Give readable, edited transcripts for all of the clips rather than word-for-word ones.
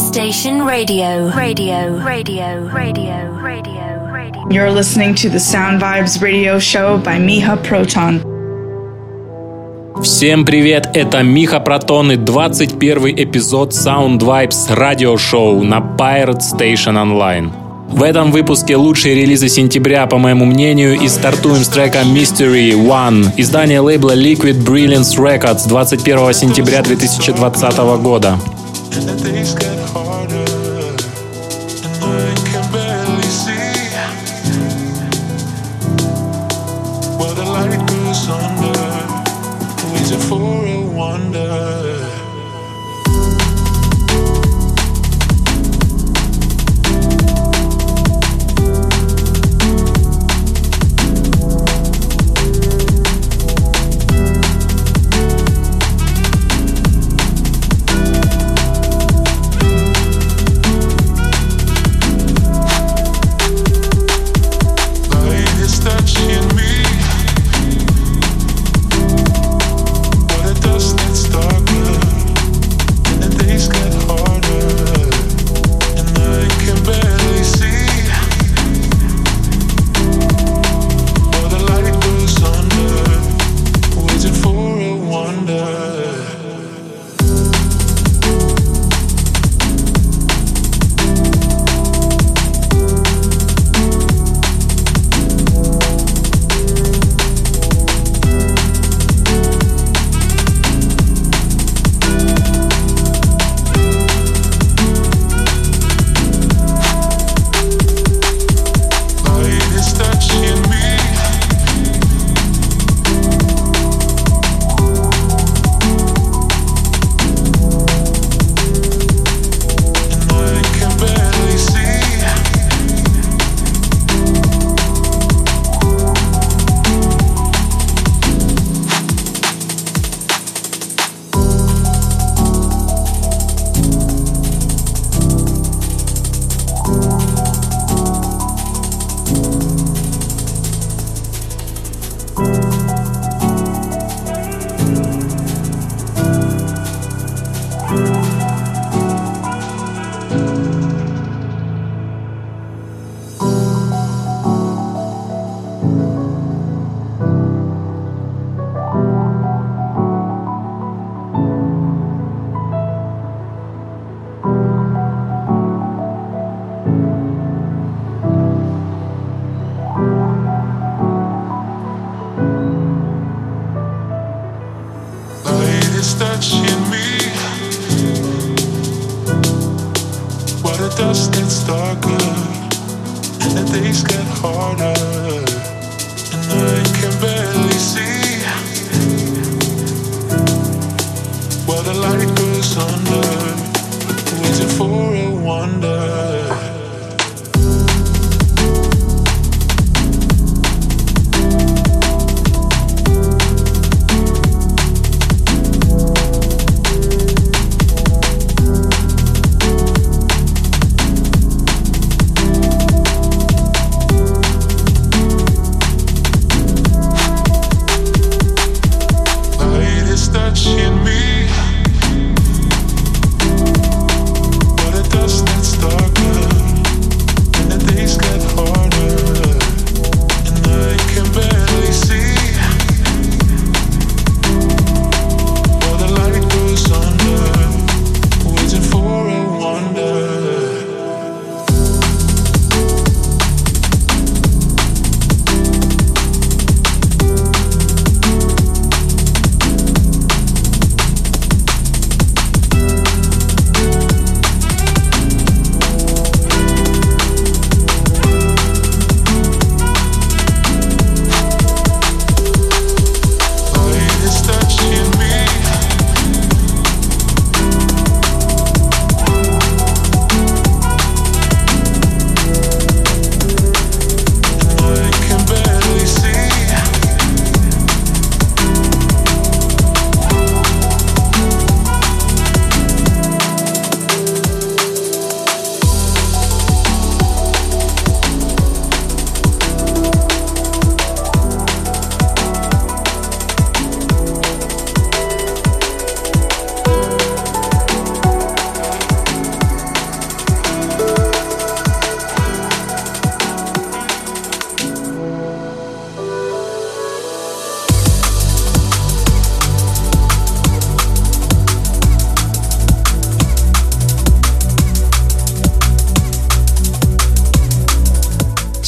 Station Radio. You're listening to the Sound Vibes Radio Show by Miha Proton. Всем привет, это Миха Протон и 21 эпизод Sound Vibes радиошоу на Pirate Station Online. В этом выпуске лучшие релизы сентября, по моему мнению, и стартуем с трека Mystery One, издание лейбла Liquid Brilliance Records 21 сентября 2020 года.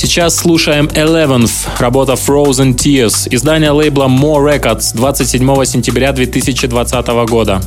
сейчас слушаем 11th, работа Frozen Tears, издание лейбла More Records 27 сентября 2020 года.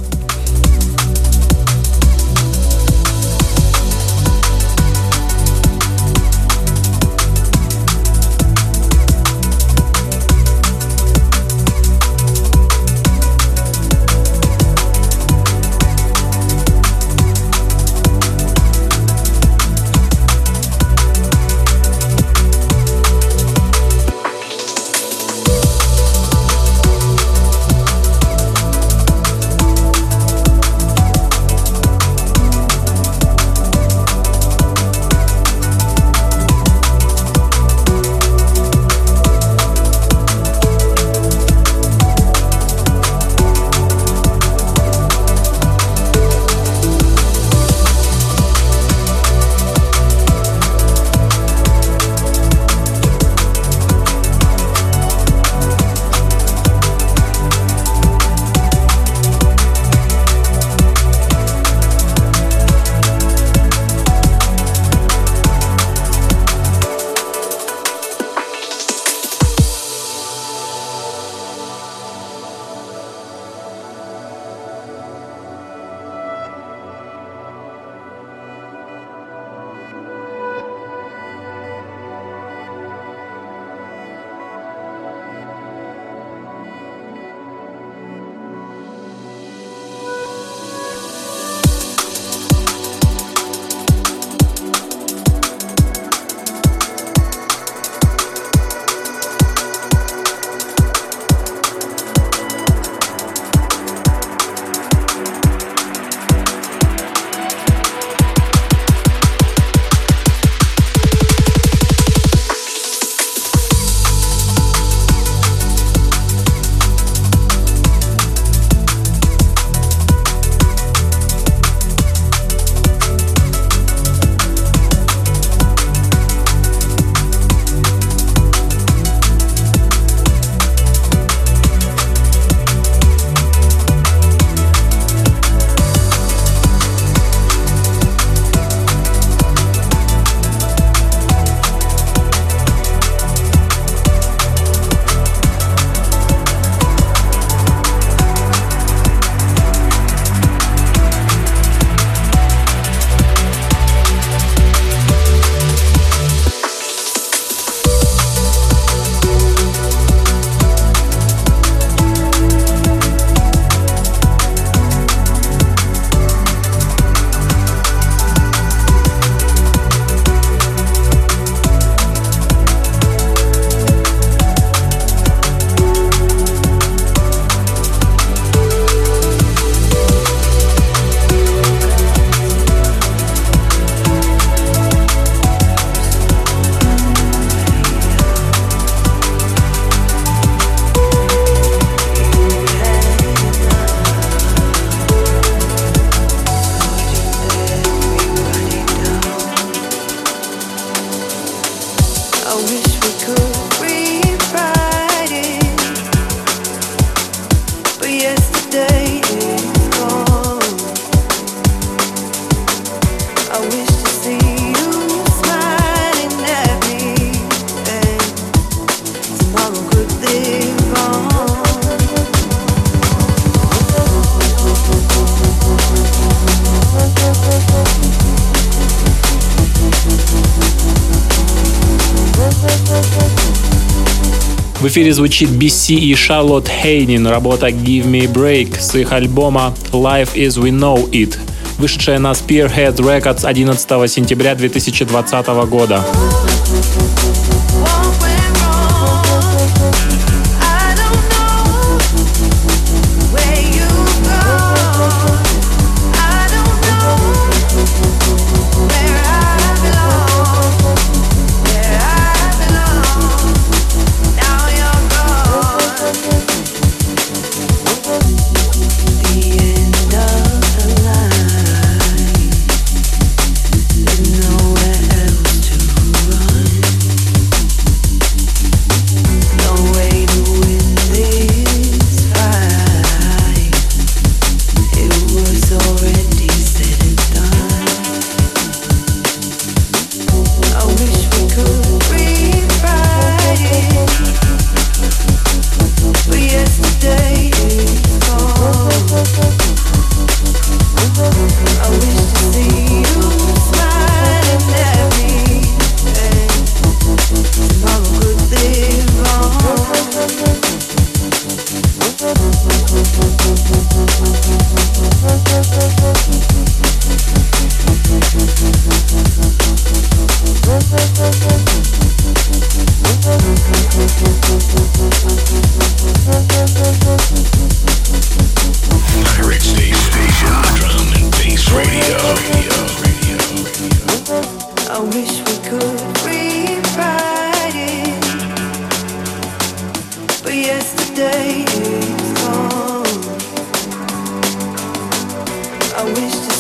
В эфире звучит BC и Шарлотт Хейнин, работа Give Me a Break с их альбома Life As We Know It, вышедшая на Spearhead Records 11 сентября 2020 года.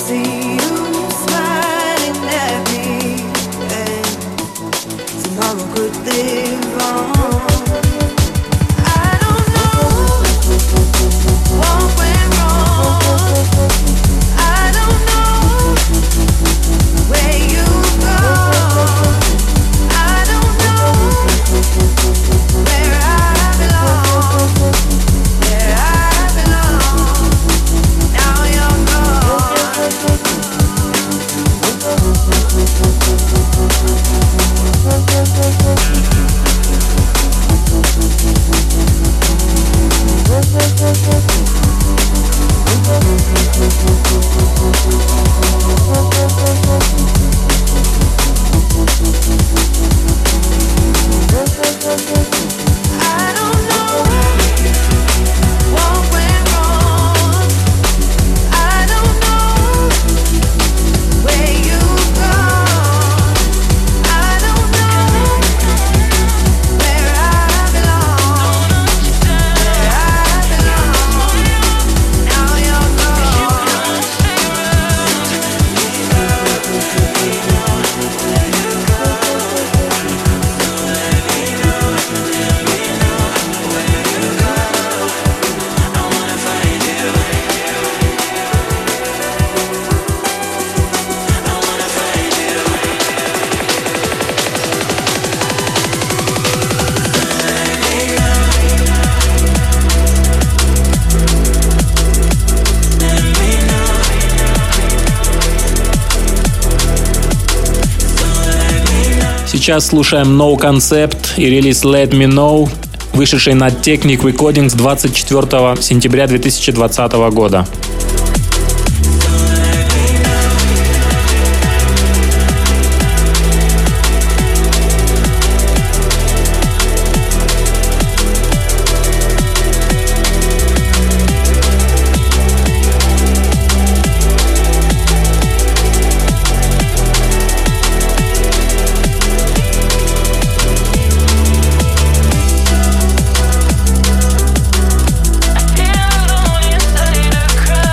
Сейчас слушаем No Concept и релиз Let Me Know, вышедший на Technic Recordings 24 сентября 2020 года. Cry.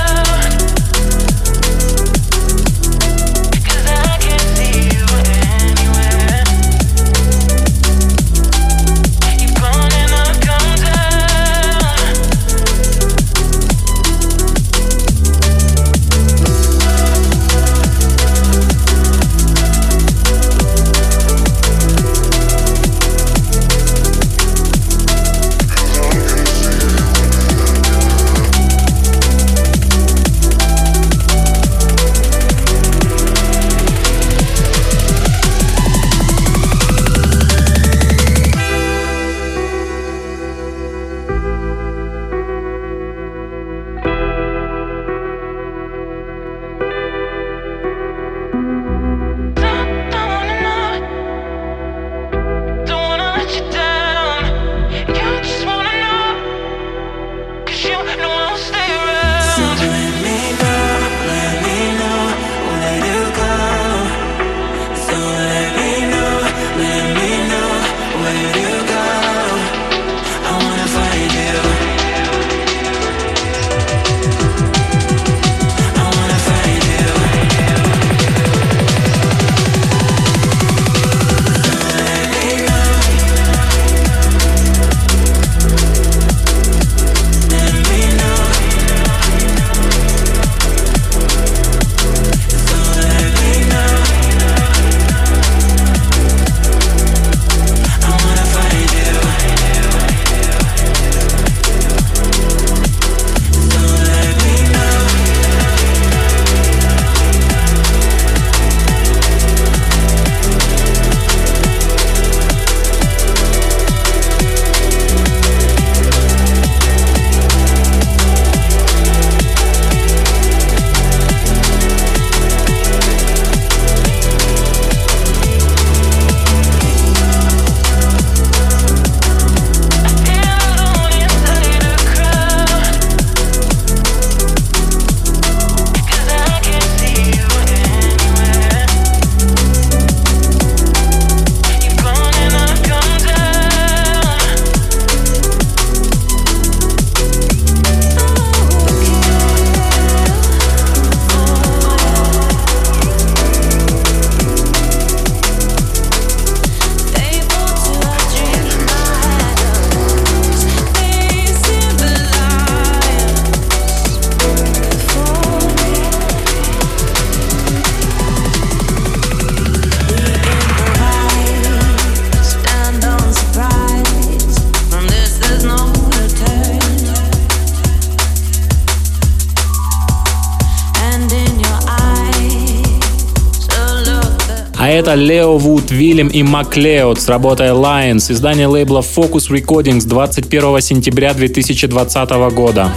А это Лео Вуд, Вильям и Маклеод с работой Lions, издание лейбла Focus Recordings 21 сентября 2020 года.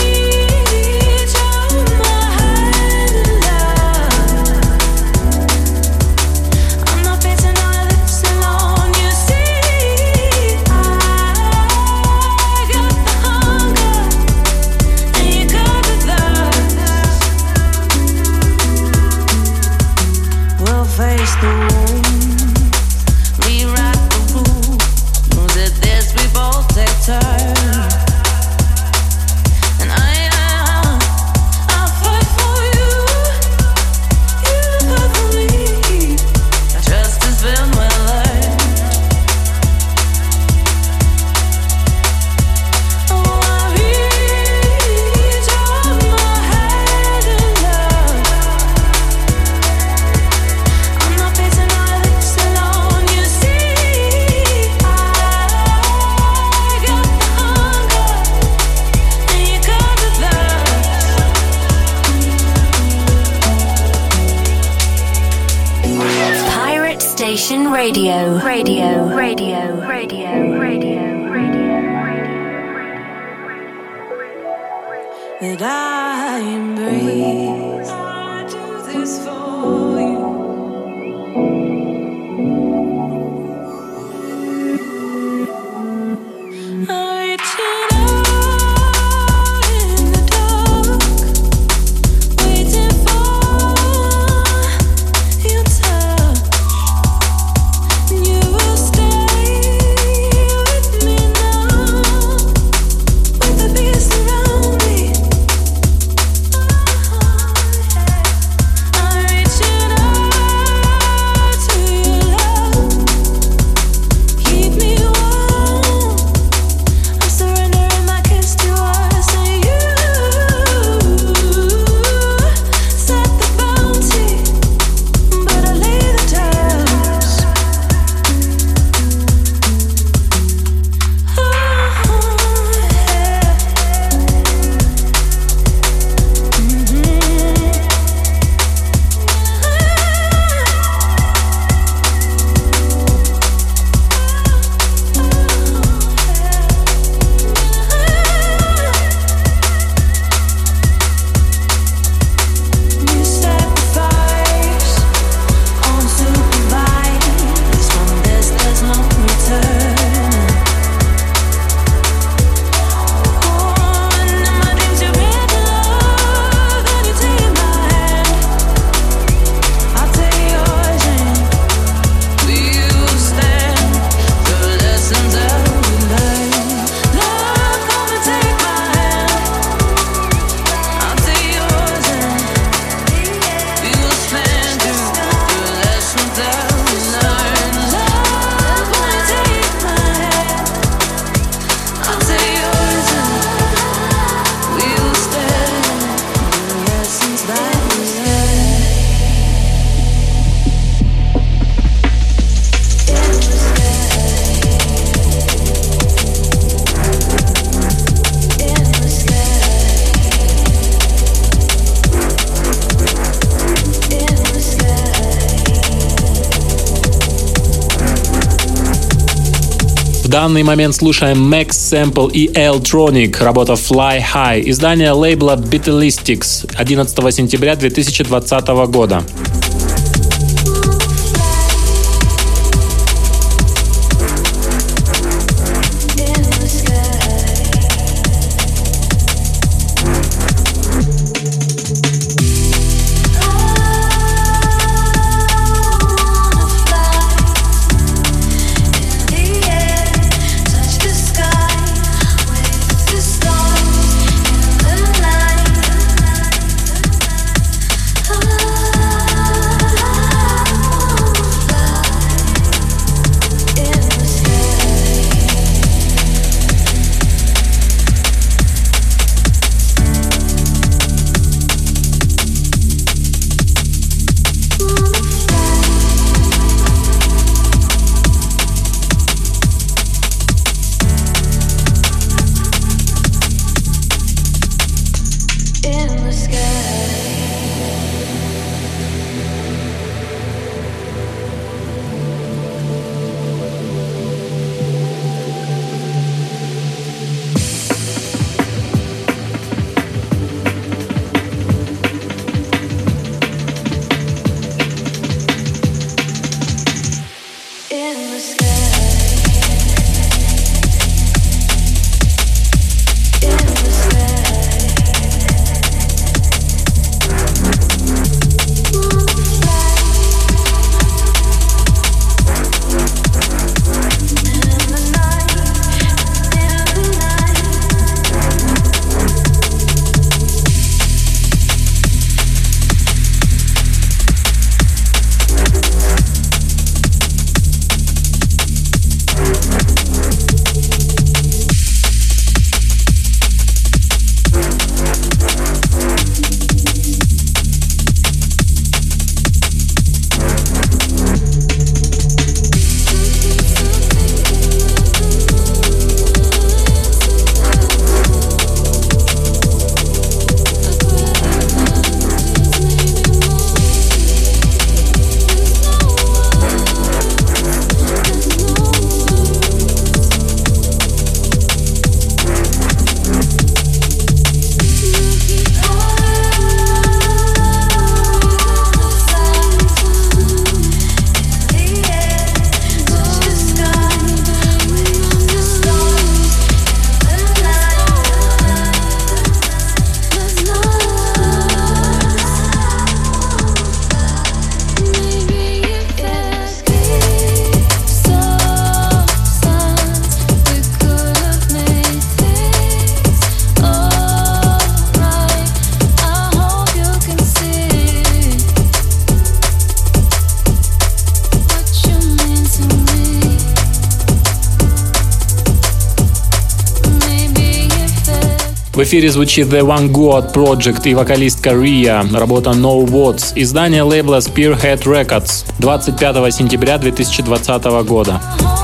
That I embrace. I do this for you. I'm reaching out in the dark, waiting for your touch. You will stay with me now, with the peace around me. I'm reaching out to your love. Keep me warm. I'm surrendering my kiss to us, and you set the bounty, but I lay the terms. You sacrifice unsupervised. From this there's no return. And in my dreams you bring love, and you take my hand. I'll take yours, and we will stand the lessons that we learn. Love, come and take my hand. I'll take yours, and we will stand through the lessons that we learn. Love, come and take my hand. I'll take yours, and we will stand through the lessons that we learn. В данный момент слушаем Max Sample и L-Tronic, работа Fly High, издание лейбла Beatlistics 11 сентября 2020 года. Touch the sky with the stars in the night. В эфире звучит The One God Project и вокалистка Ria, работа No Words, издание лейбла Spearhead Records, 25 сентября 2020 года.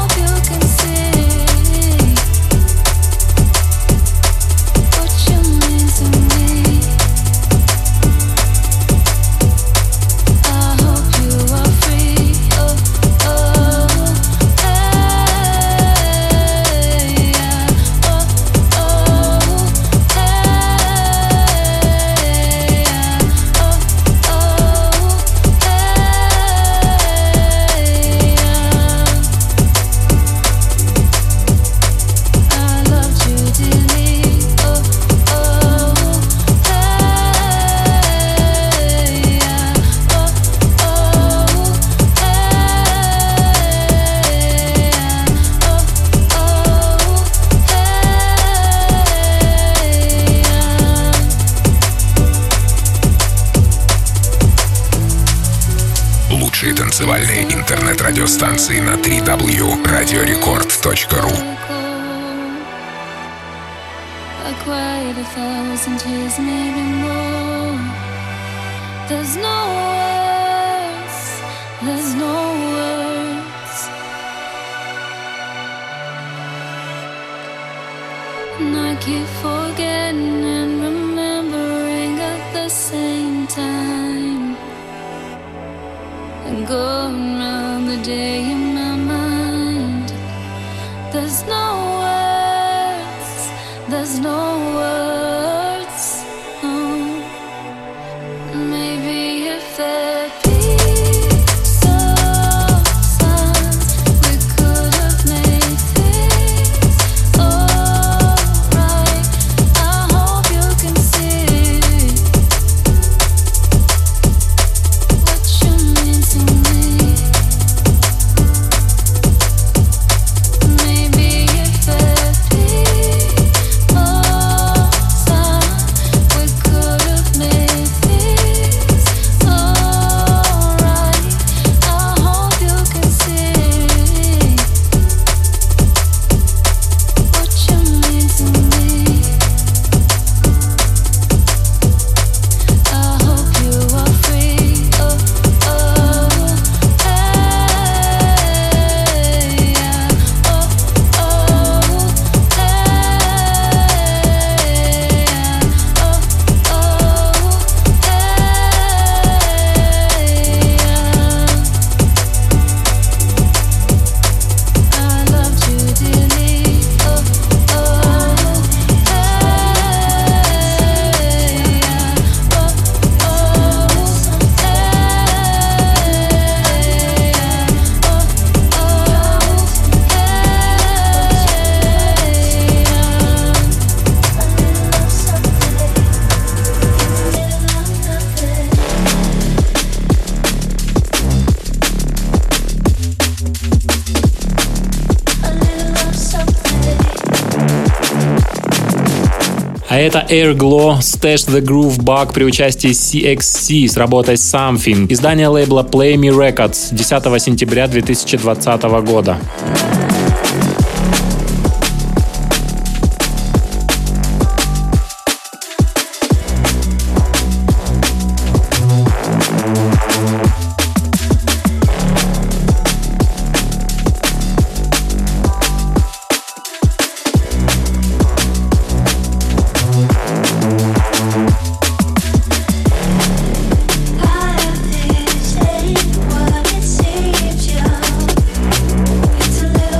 Танцевальные интернет-радиостанции на www.radiorecord.ru. Going round the day in my mind. There's no words, there's no words. No. Maybe if there'd be some signs, we could have made things alright. I hope you can see what you mean to me. А это Airglow Stash the Groove Bug при участии CXC с работой Something. Издание лейбла Play Me Records 10 сентября 2020 года. It's a little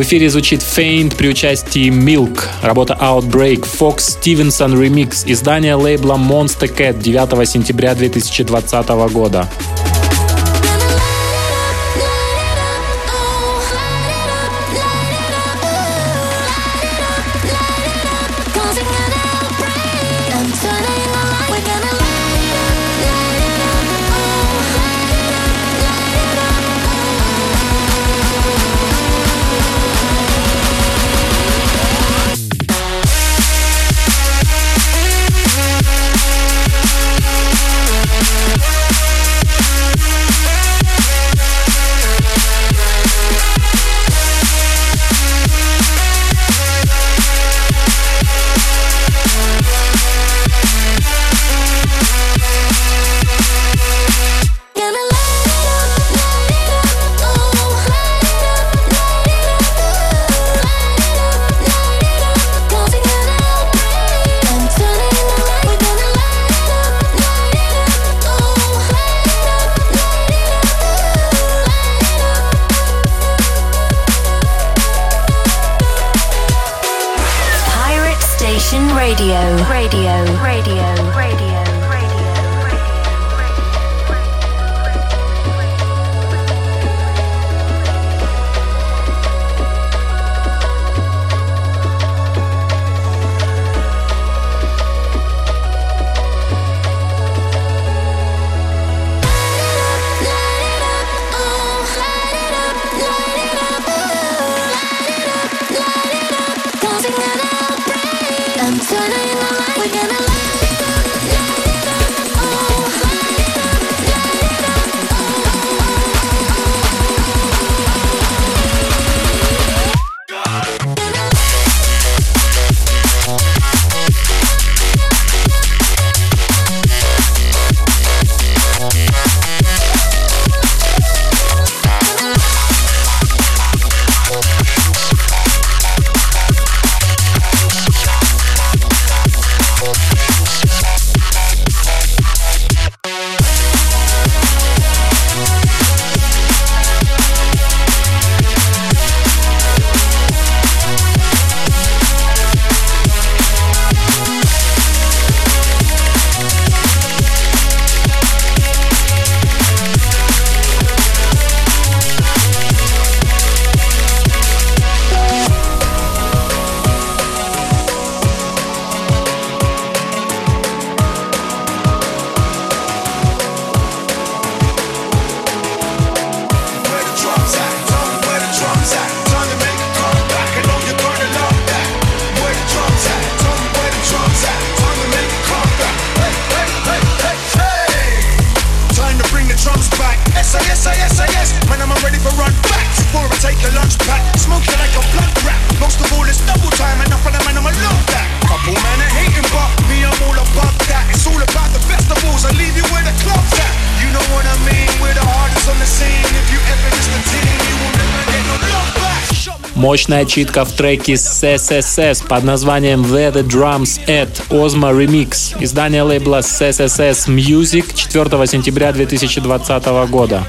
В эфире звучит Faint при участии Milk, работа Outbreak, Fox Stevenson Remix, издание лейбла Monster Cat 9 сентября 2020 года. Мощная читка в треке SSS под названием Where the Drums At, Ozma Remix, издание лейбла SSS Music 4 сентября 2020 года.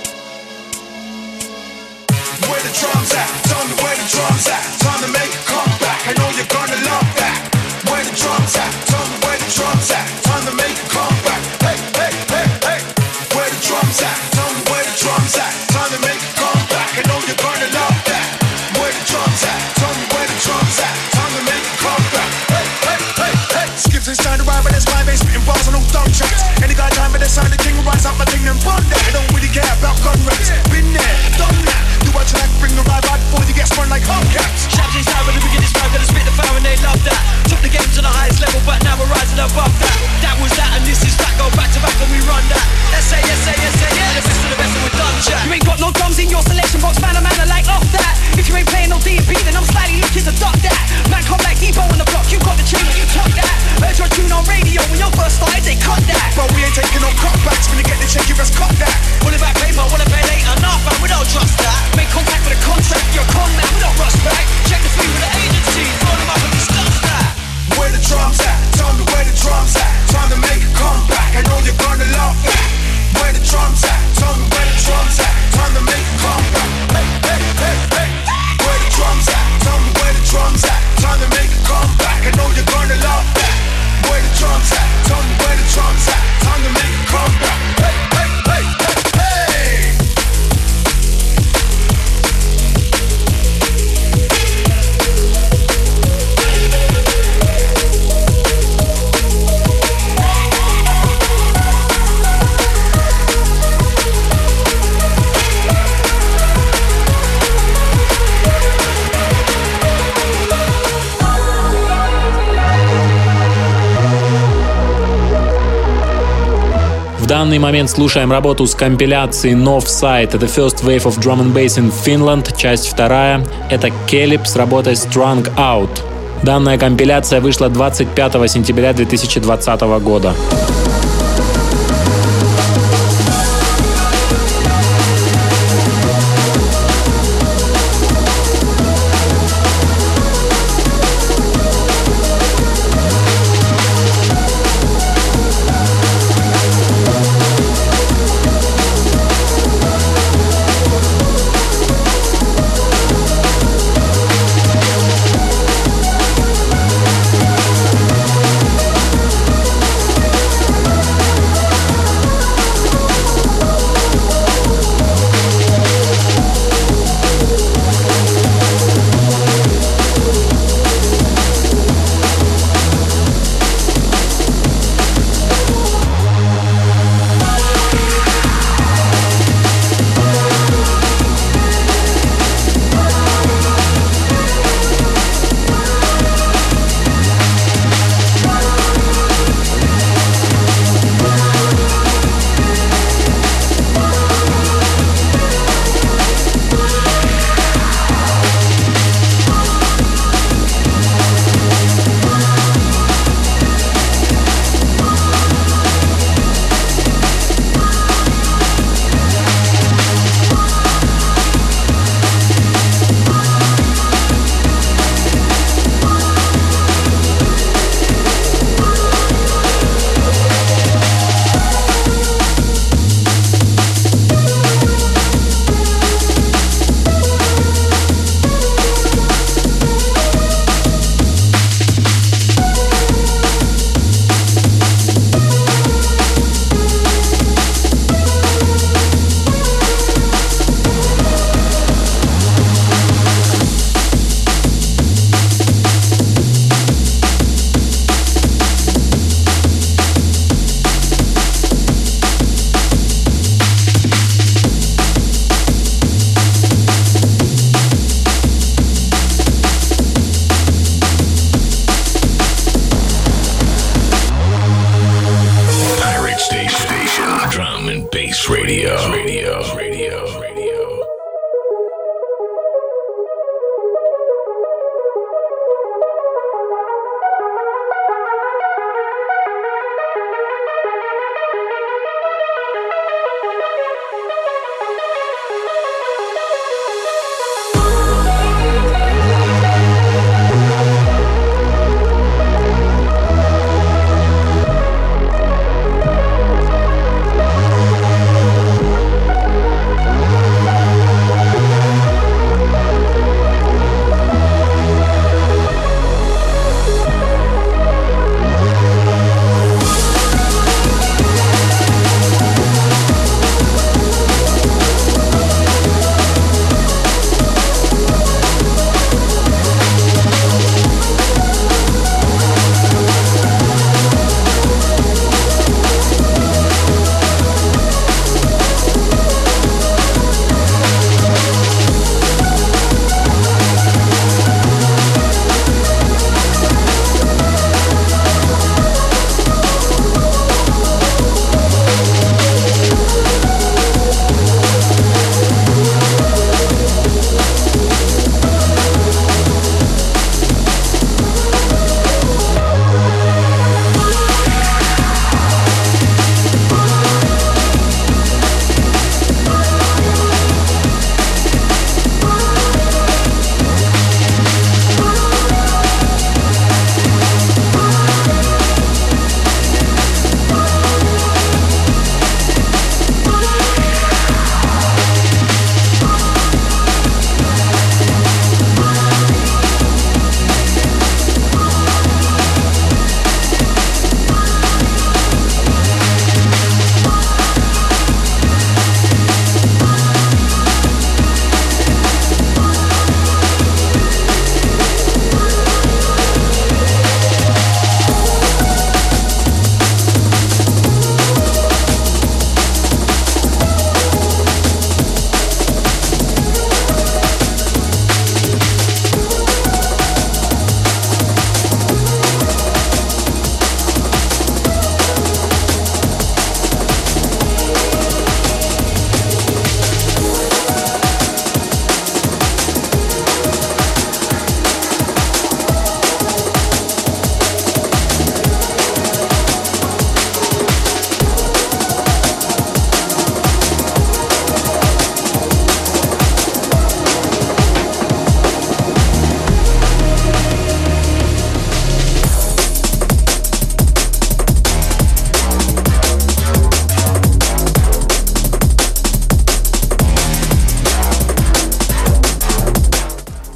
Drums at, tell me where the drums at. Time to make a comeback. drums at? Time to make a comeback. I know you're gonna love that. Where the drums at? Tell me where the drums at. Time to make a comeback. Hey, hey, hey, hey. Skips inside the ride, but that's my bass, spitting bars on no dumb tracks. Any guy time for the sign, the king will rise up my thing and run that. I don't really care about gun rates. Been there, done that. Do what you like, bring the ride right before you get spun like hubcaps. Shabs inside when we get this vibe, gonna spit the fire and they love that. Took the game to the highest level, but now we're rising above that. That was that, and this is that. Go back to back and we run that. S.A., S.A., S.A., yeah. The best of the best, and we're done, chat. You ain't got no drums in your selection box, man, I like off that. If you ain't playing no D&P, then I'm slightly looking to duck that. Man, come like Debo on the block, you got the chain, you tuck that. Heard your tune on radio when your first started, they cut that. But we ain't taking no cutbacks. When you get the check, you best cut that. What about paper, what about later? Nah, fam, we don't trust that. Make contact with a contract, you're a con man, we don't rush back. Check the fee with the agency, roll them up and discuss that. Where the drums at? Tell me where the drums at. Time to make a comeback. I know you're gonna love that. Where the drums at? Tell me where the drums at. Time to make a comeback. Hey, hey, hey, hey. Where the drums at? Tell me where the drums at. Time to make a comeback. I know you're gonna love that. Where the drums at? Tell me where the drums at. Time to make a comeback. Hey, hey, hey, hey, hey. В данный момент слушаем работу с компиляции Northside. Это First Wave of Drum and Bass in Finland, часть 2. Это Caleb с работой Strung Out. Данная компиляция вышла 25 сентября 2020 года.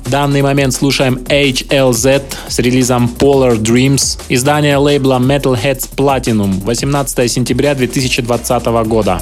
В данный момент слушаем HLZ с релизом Polar Dreams, издание лейбла Metalheadz Platinum, 18 сентября 2020 года.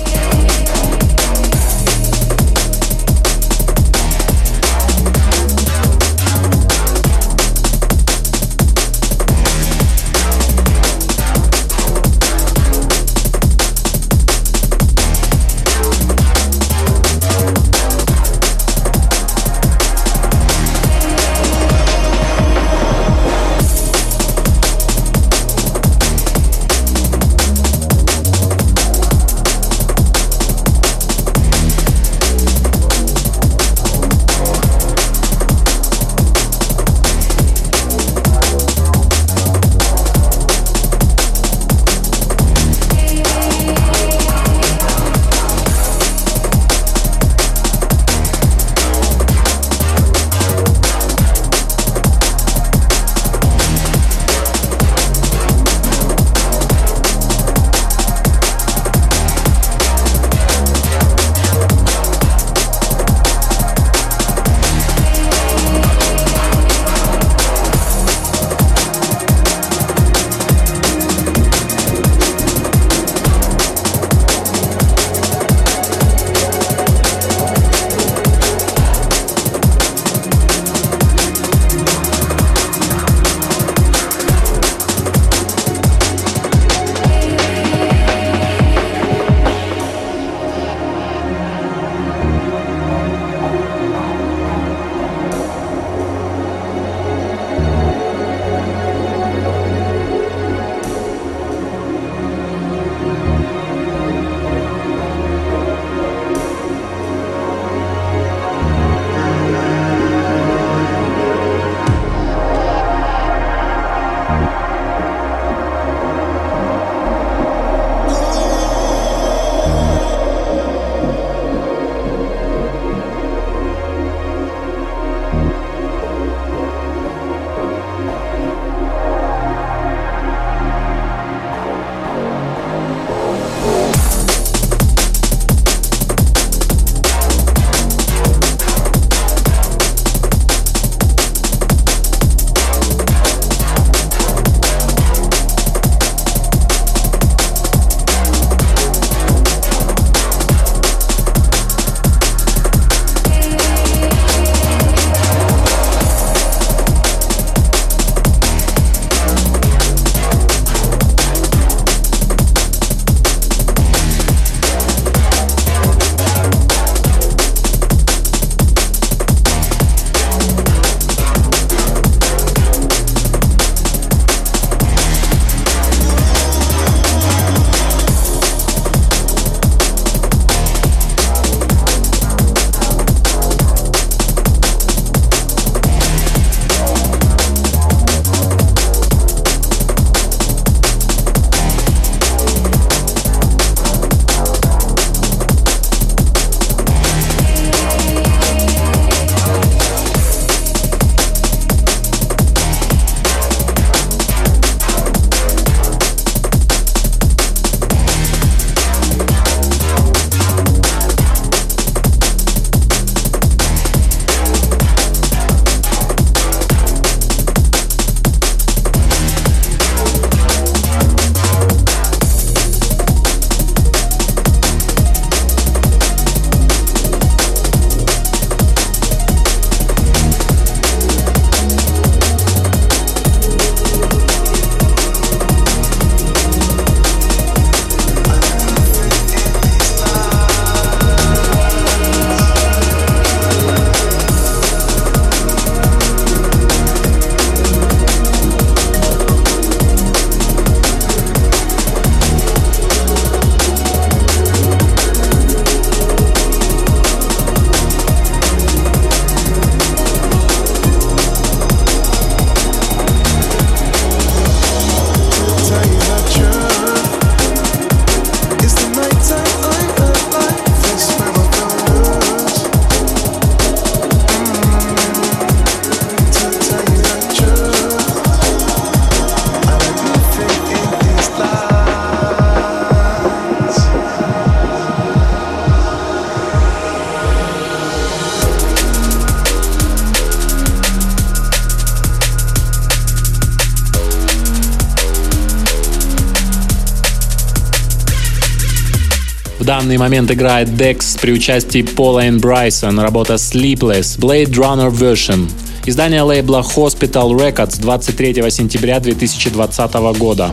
данный момент играет Dex при участии Пола и Брайсон, работа Sleepless, Blade Runner Version. Издание лейбла Hospital Records 23 сентября 2020 года.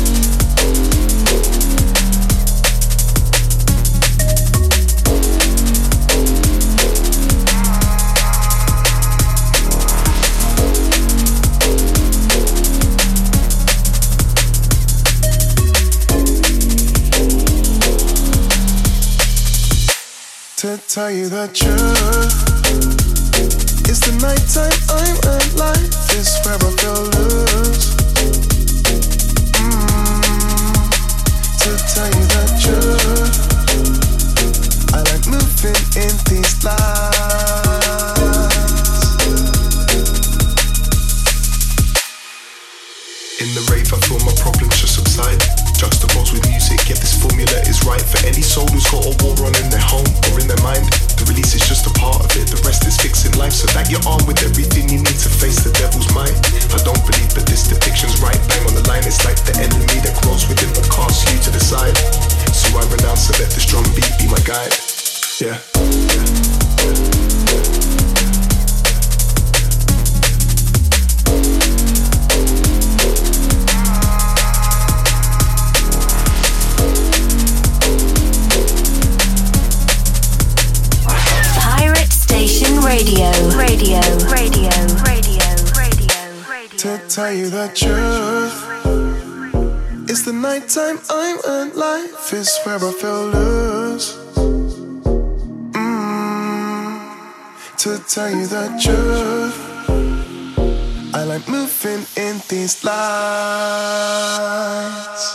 To tell you the truth, it's the nighttime I'm alive. This where I feel loose. To tell you the truth, I like moving in these lights. In the rave, I feel my problems just subside. Juxtaposed with music, yet this formula is right for any soul who's got a war on in their home or in their mind. The release is just a part of it, the rest is fixing life, so that you're armed with everything you need to face the devil's might. I don't believe that this depiction's right, bang on the line. It's like the enemy that grows within but casts you to the side. So I renounce and let this drum beat be my guide. Yeah. To tell you the truth, it's the nighttime I'm alive. It's where I feel loose. To tell you the truth, I like moving in these lights.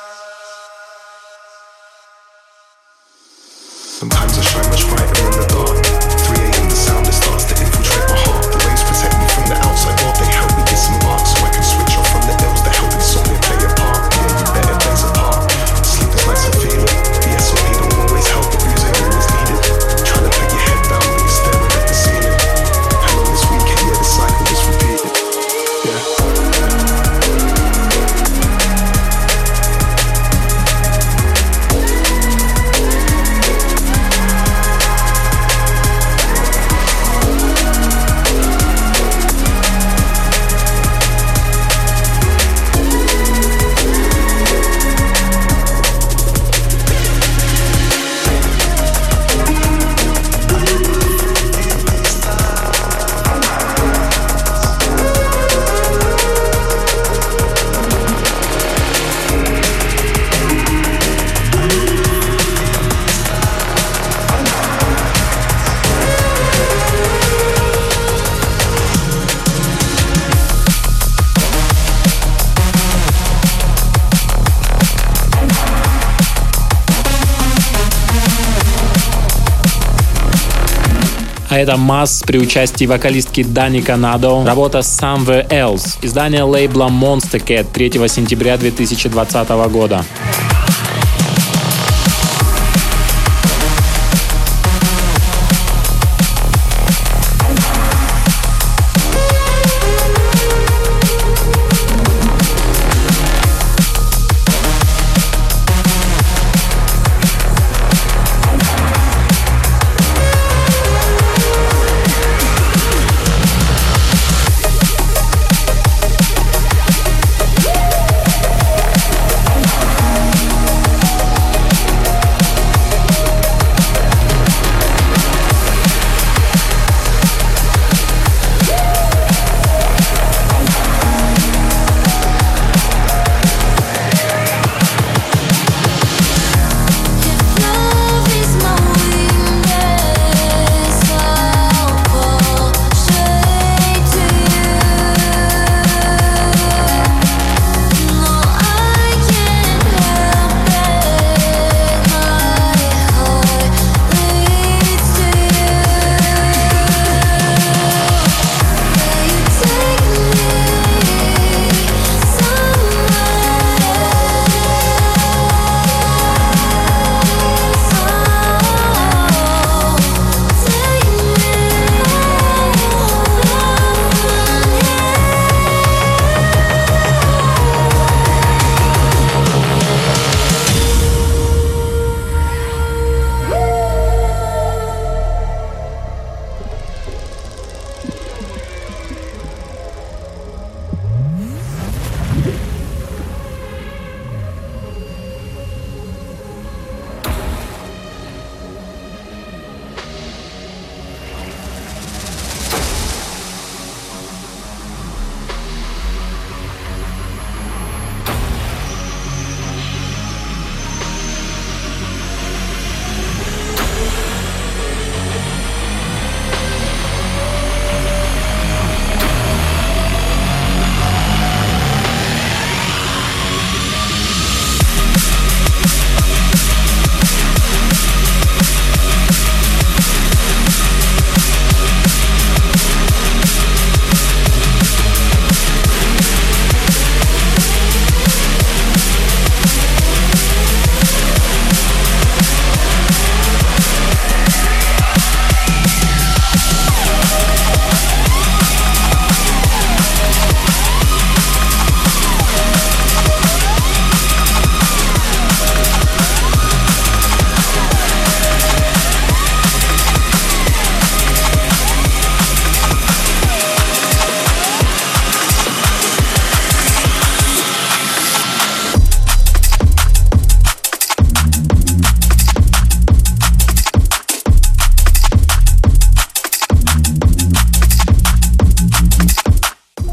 Sometimes I shine much brighter in the dark. 3 a.m. the sound that starts to infiltrate my heart. The waves protect me from the outside world. They help me get some bark so I can switch off from the ills that help insomnia play a part. Yeah, you better plays a part. Sleepless nights are feeling. The SOP don't always help, but music always needed. Trying to put your head down when you're staring at the ceiling. And on this weekend, yeah, the cycle is repeated. Yeah. А это Масс при участии вокалистки Дани Канадо, работа Somewhere Else, издание лейбла Monster Cat 3 сентября 2020 года.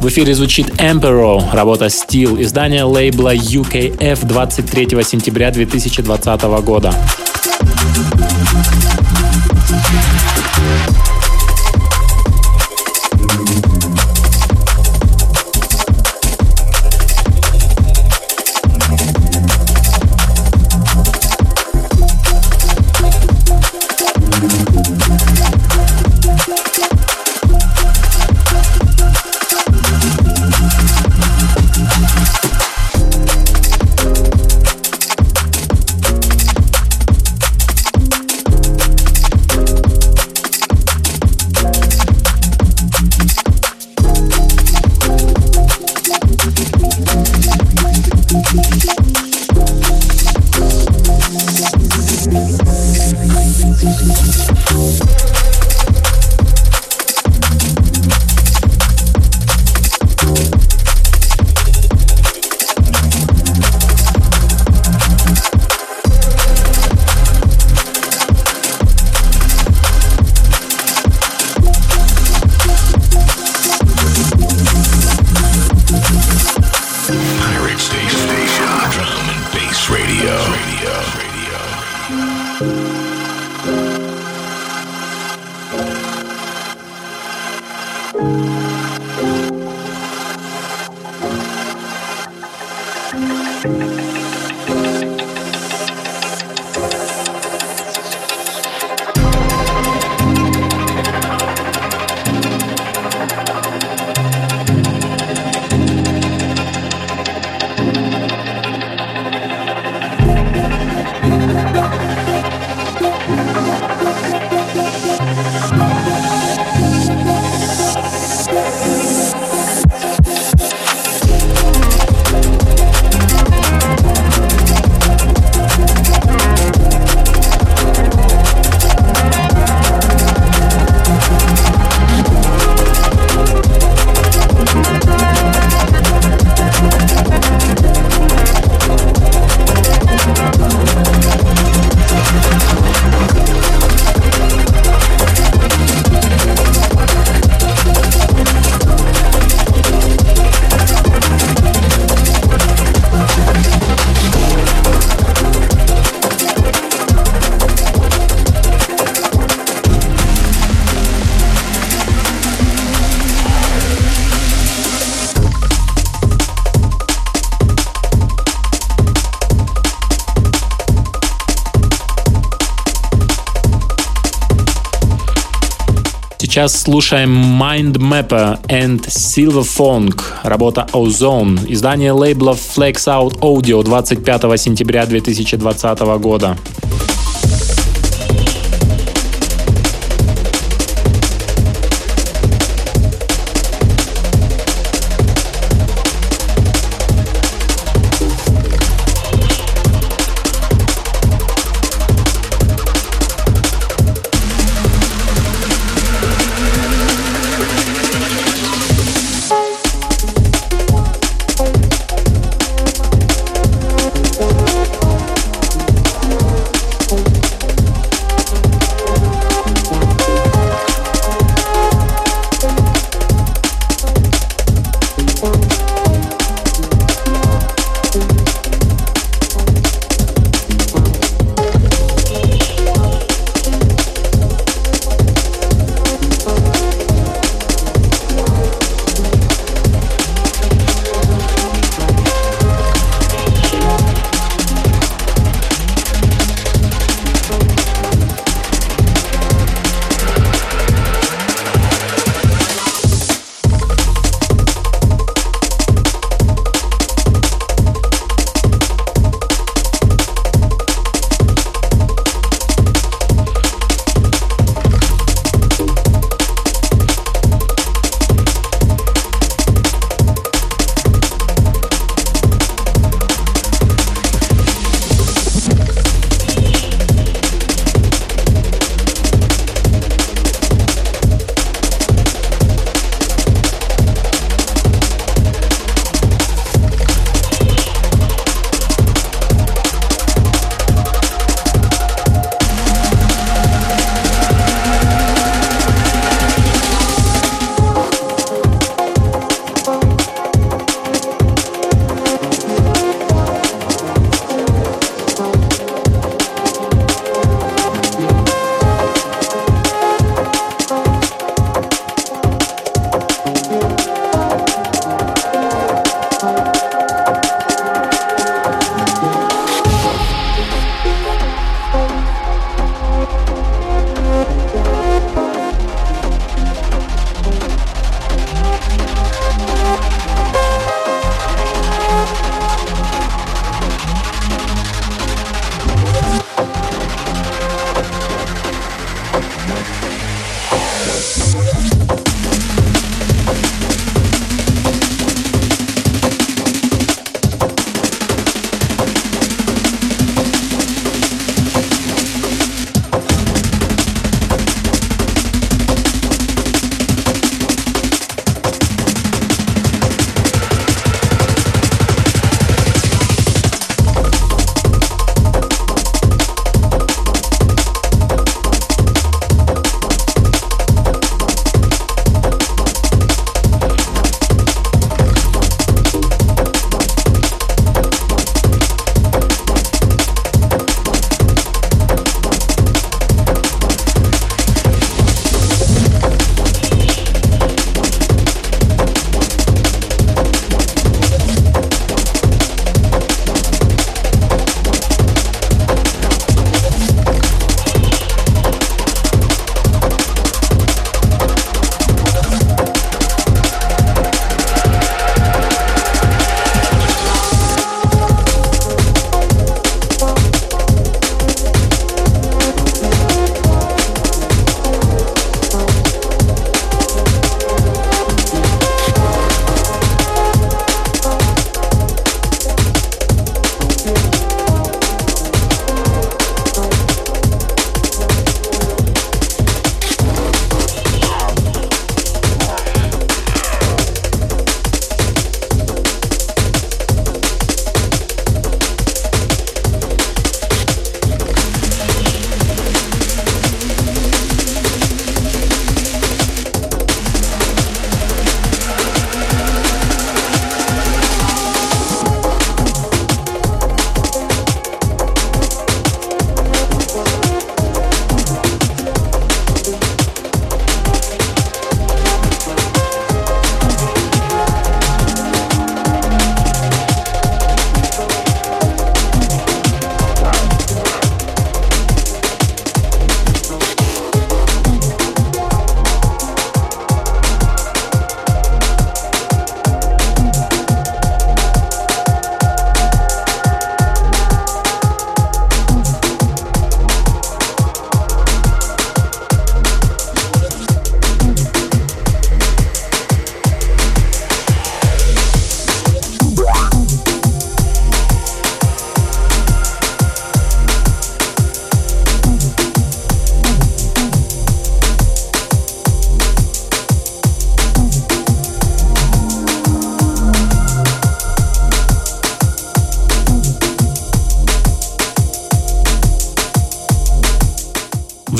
В эфире звучит Emperor, работа Steel, издание лейбла UKF 23 сентября 2020 года. Сейчас слушаем Mind Mapper and Silver Fong, работа Ozone, издание лейбла Flex Out Audio 25 сентября 2020 года.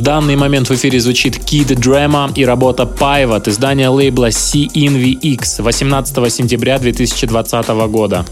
данный момент в эфире звучит Kid Drama и работа Paiva от издания лейбла CNVX 18 сентября 2020 года.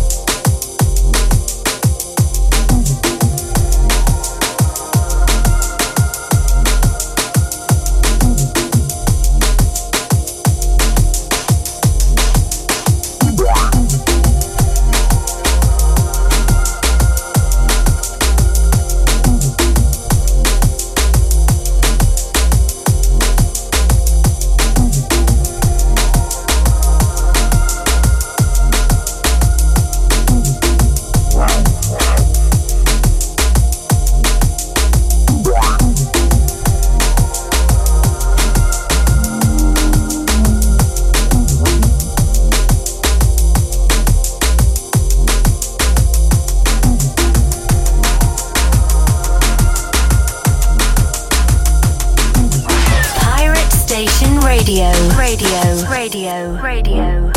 Radio.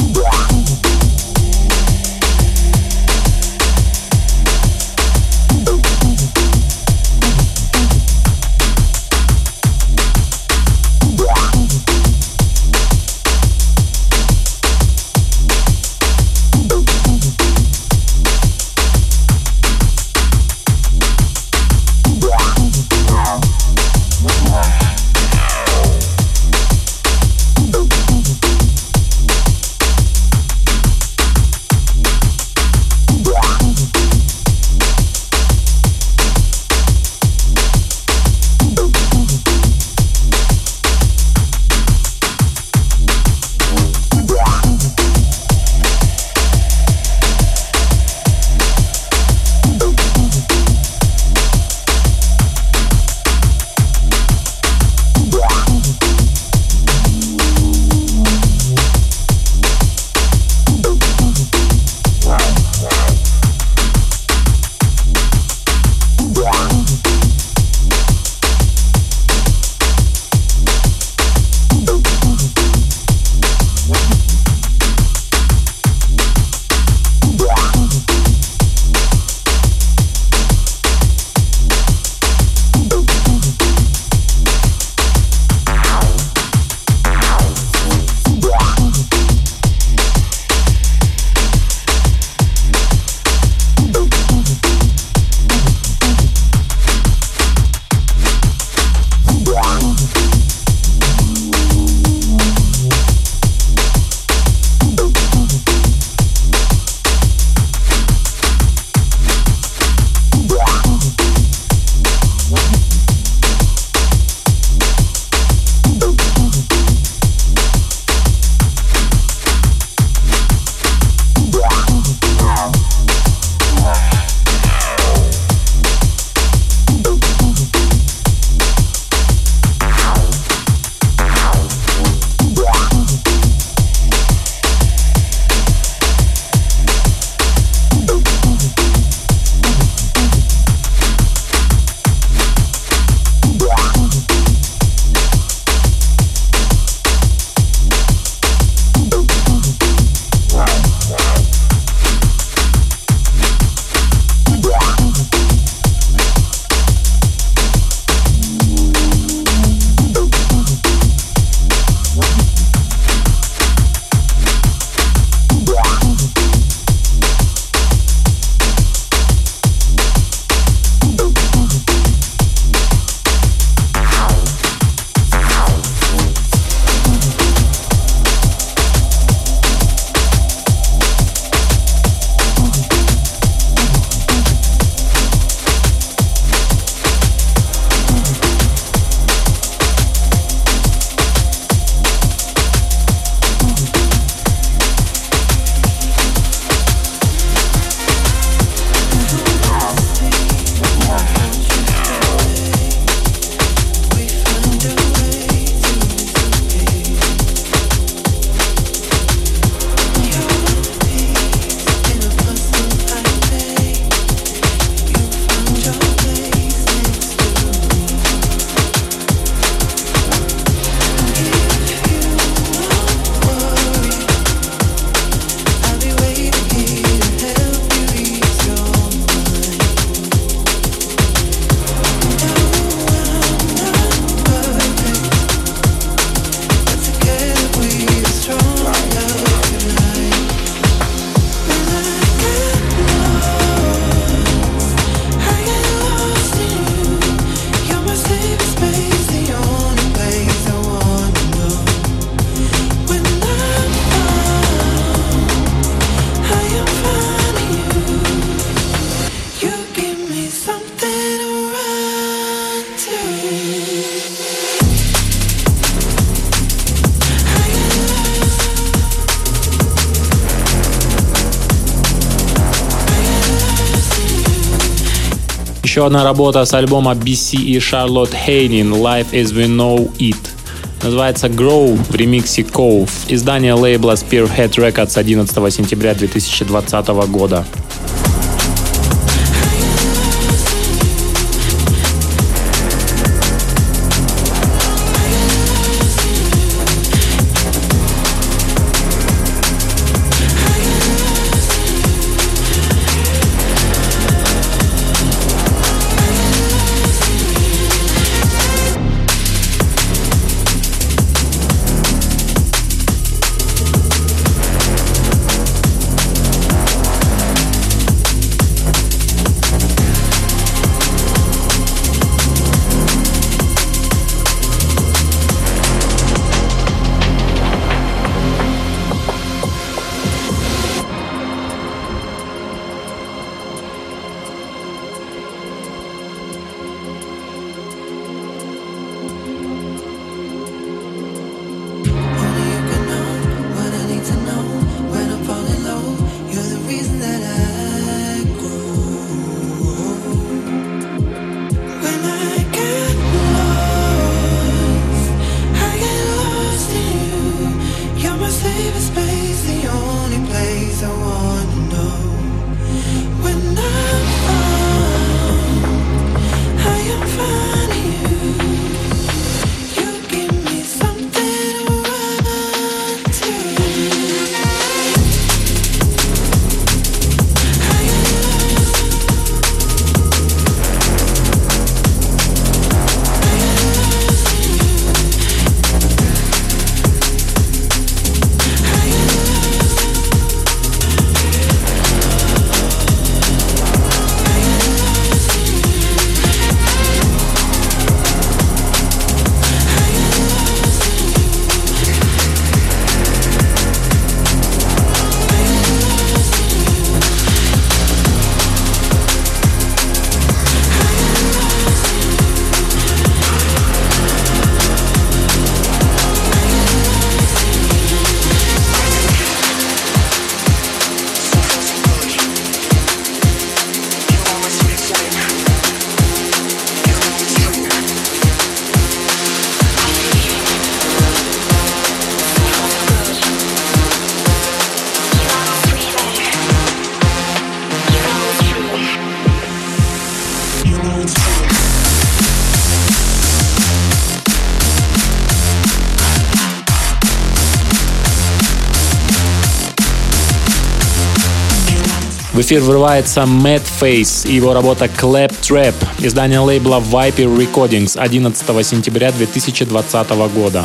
Еще одна работа с альбома BC и Charlotte Haynin «Life as We Know It». Называется «Grow» в ремиксе Cove. Издание лейбла Spearhead Records 11 сентября 2020 года. В эфир врывается Matt Face и его работа Clap Trap, издание лейбла Viper Recordings 11 сентября 2020 года.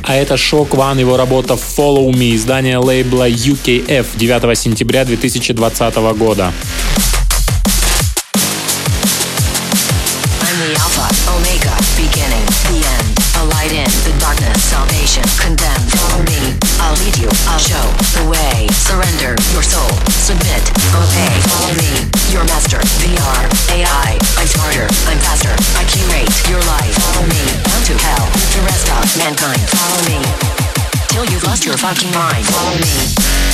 А это Shock One, его работа Follow Me, издание лейбла UKF 9 сентября 2020 года. The Alpha, Omega, beginning, the end, a light in the darkness, salvation, condemned, follow me, I'll lead you, I'll show the way, surrender your soul, submit, obey, follow me, your master, VR, AI, I'm smarter, I'm faster, I curate your life, follow me, down to hell, the rest of mankind, follow me, till you've lost your fucking mind, follow me.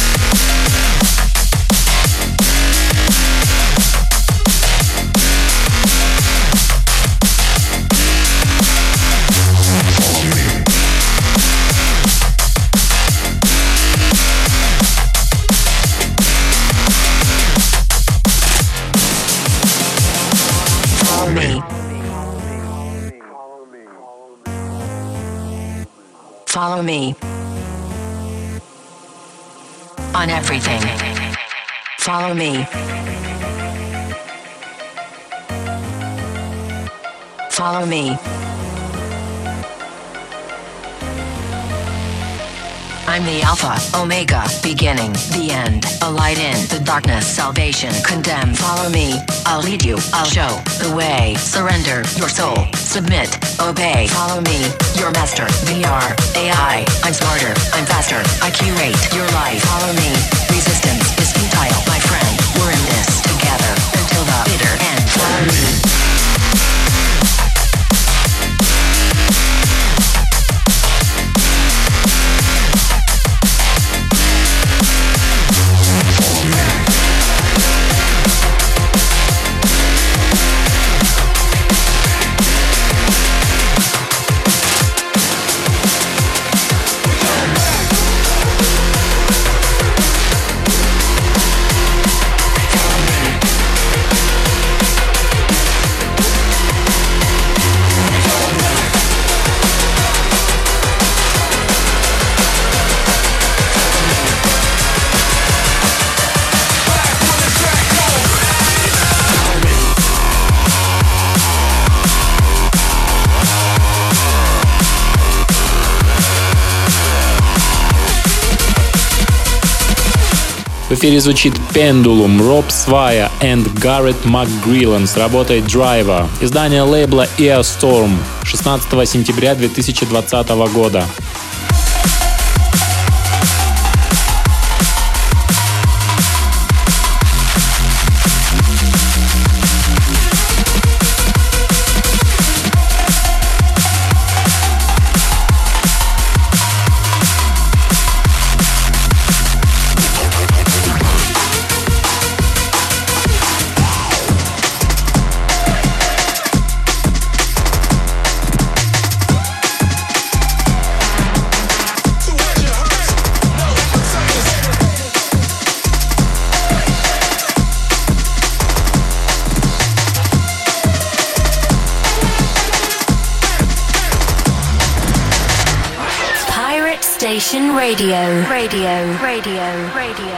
Follow me on everything. Follow me. Follow me. I'm the Alpha, Omega, beginning, the end, a light in the darkness, salvation, condemn, follow me, I'll lead you, I'll show the way, surrender your soul, submit, obey, follow me, your master, VR, AI, I'm smarter, I'm faster, I curate your life, follow me, resistance is futile, my friend, we're in this together, until the bitter end, follow me. В эфире звучит Pendulum, Rob Swire and Garrett McGrillen с работой Driver, издание лейбла Eostorm 16 сентября 2020 года. Radio.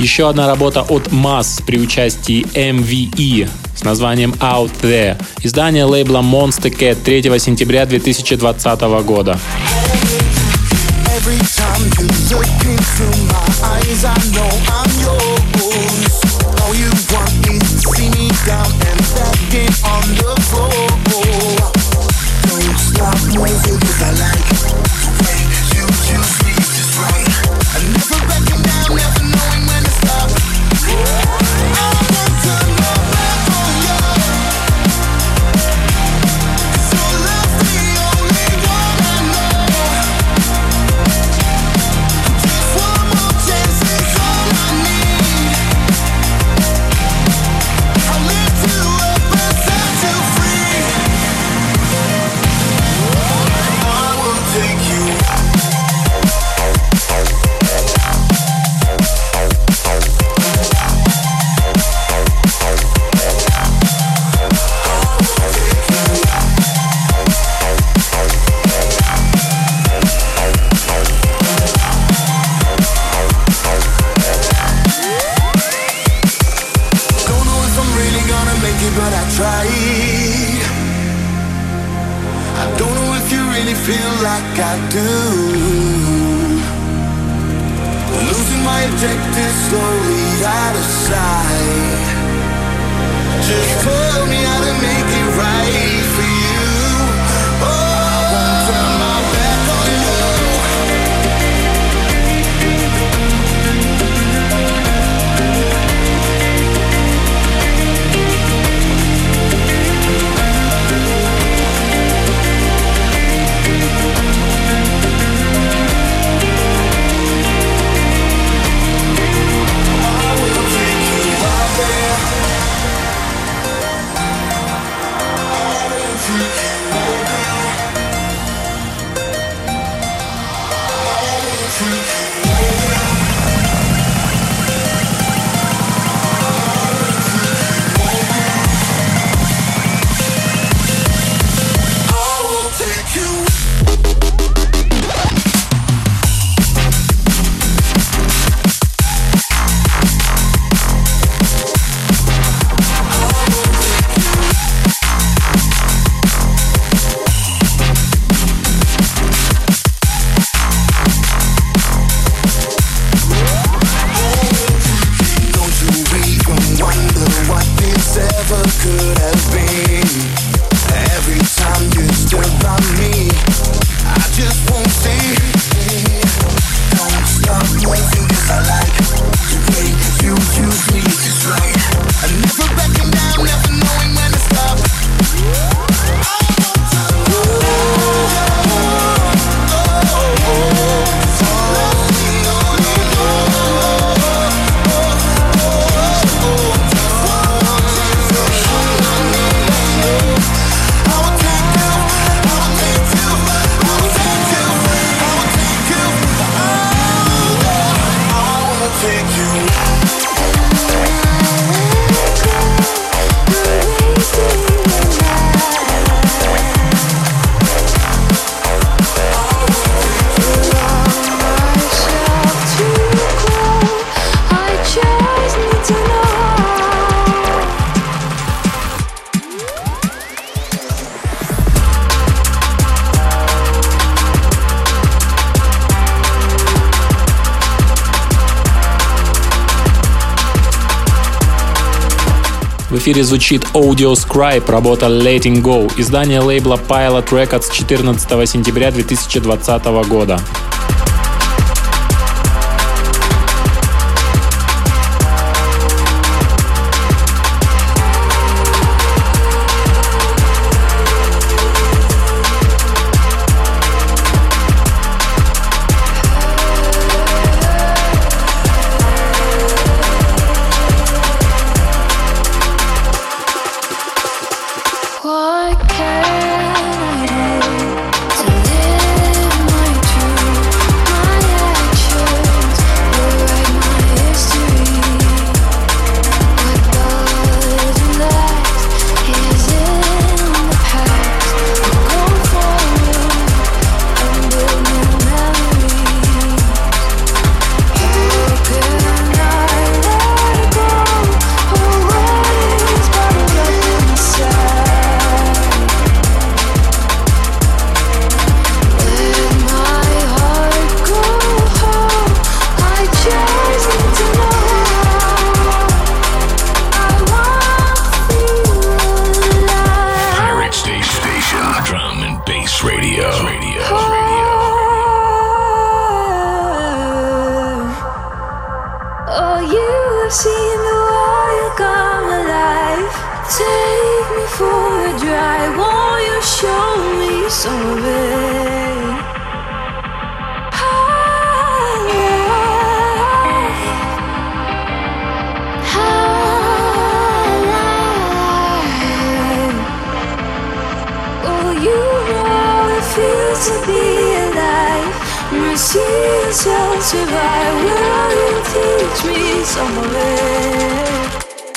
Еще одна работа от Mass при участии MVE с названием Out There. Издание лейбла Monster Cat 3 сентября 2020 года. Every time you look into my eyes, I know I'm yours. All you want is to see me down and begging on the floor. Don't stop moving 'cause I like the way you choose me just right. I never backing down, never knowing when to stop. I won't turn my back on you. 'Cause your love's the only one I know. One more chance is all I need. I'll lift you up and set you free. I will take you. Don't know if I'm really gonna make it, but I tried. I don't know if you really feel like I do. Losing my objective slowly out of sight. Just tell me how to make it right for you. Oh, I won't turn my back on you. I will take you out there. I will take you out there. I will take you out there. I will take you. Don't you even wonder what this ever could have been? Every time you stood by me, I just won't see. Don't stop moving 'cause I like the way you choose me just right. I never backing down, never knowing when to stop. Take you. В эфире звучит Audio Scribe, работа Letting Go, издание лейбла Pilot Records 14 сентября 2020 года. What can I do to live my truth? some of it. Oh, you know it feels to be alive. And see yourself survive. Will you teach me some of it?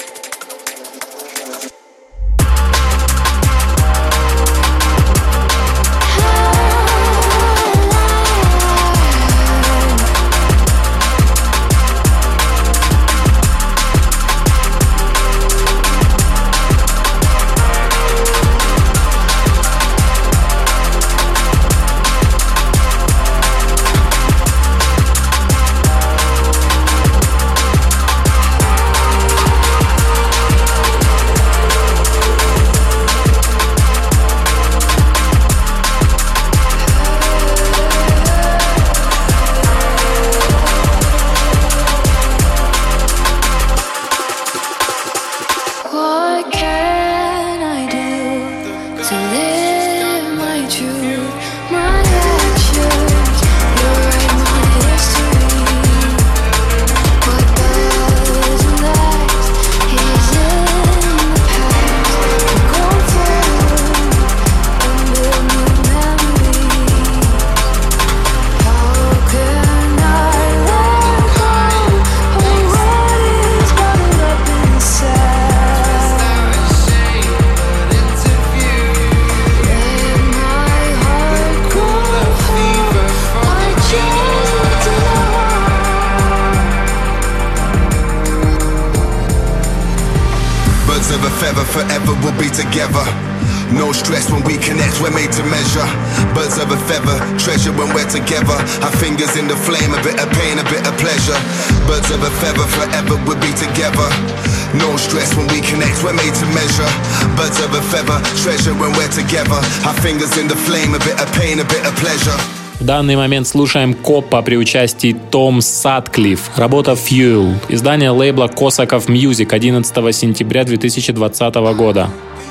Forever we'll be together. No stress when we connect, we're made to measure. Birds of a feather, treasure when we're together. Our fingers in the flame, a bit of pain, a bit of pleasure. Birds of a feather, forever we'll be together. No stress when we connect, we're made to measure. Birds of a feather, treasure when we're together. Our fingers in the flame, a bit of pain, a bit of pleasure. В данный момент слушаем Коппа при участии Том Сатклифф, работа Fuel, издание лейбла Косаков Music 11 сентября 2020 года.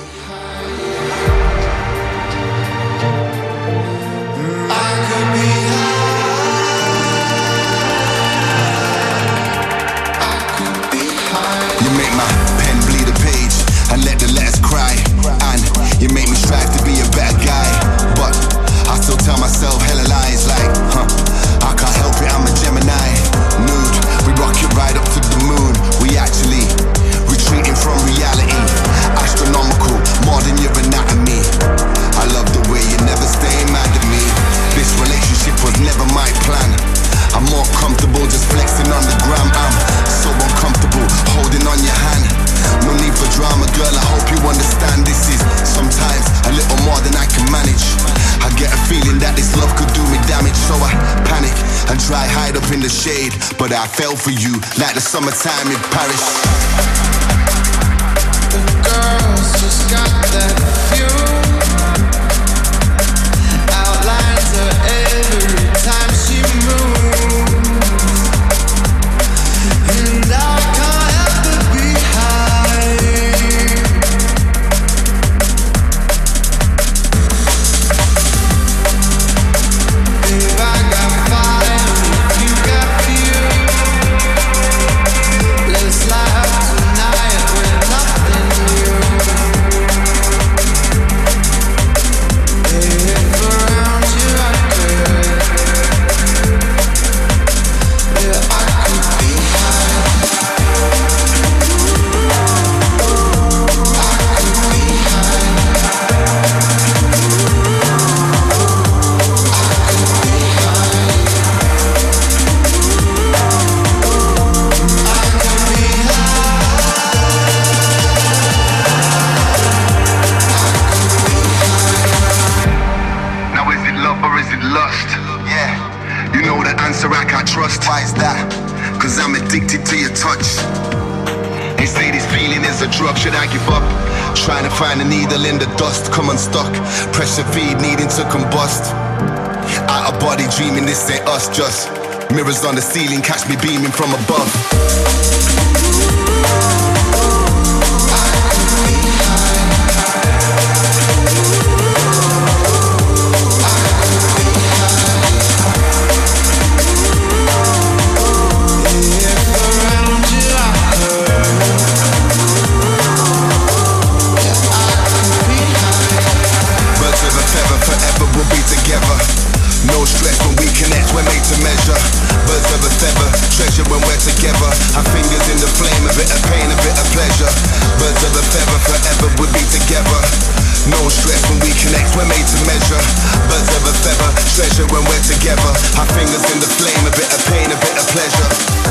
But I fell for you like the summertime in Paris. The girls just got that fuel. Outlines her every time she moves. And I can't help but be high. Babe, I got fire. You got fuel. Let's light up tonight with nothing new. If around you I could, yeah, I could be high. I could be high. Now is it love or is it lust? Yeah, you know the answer I can't trust. Why is that? Cause I'm addicted to your touch. They say this feeling is a drug, should I give up? Trying to find a needle in the dust, come unstuck. Pressure feed needing to combust. Out of body dreaming, this ain't us, just mirrors on the ceiling, catch me beaming from above. I could be high. No stress when we connect, we're made to measure. Birds of a feather, treasure when we're together. Our fingers in the flame, a bit of pain, a bit of pleasure.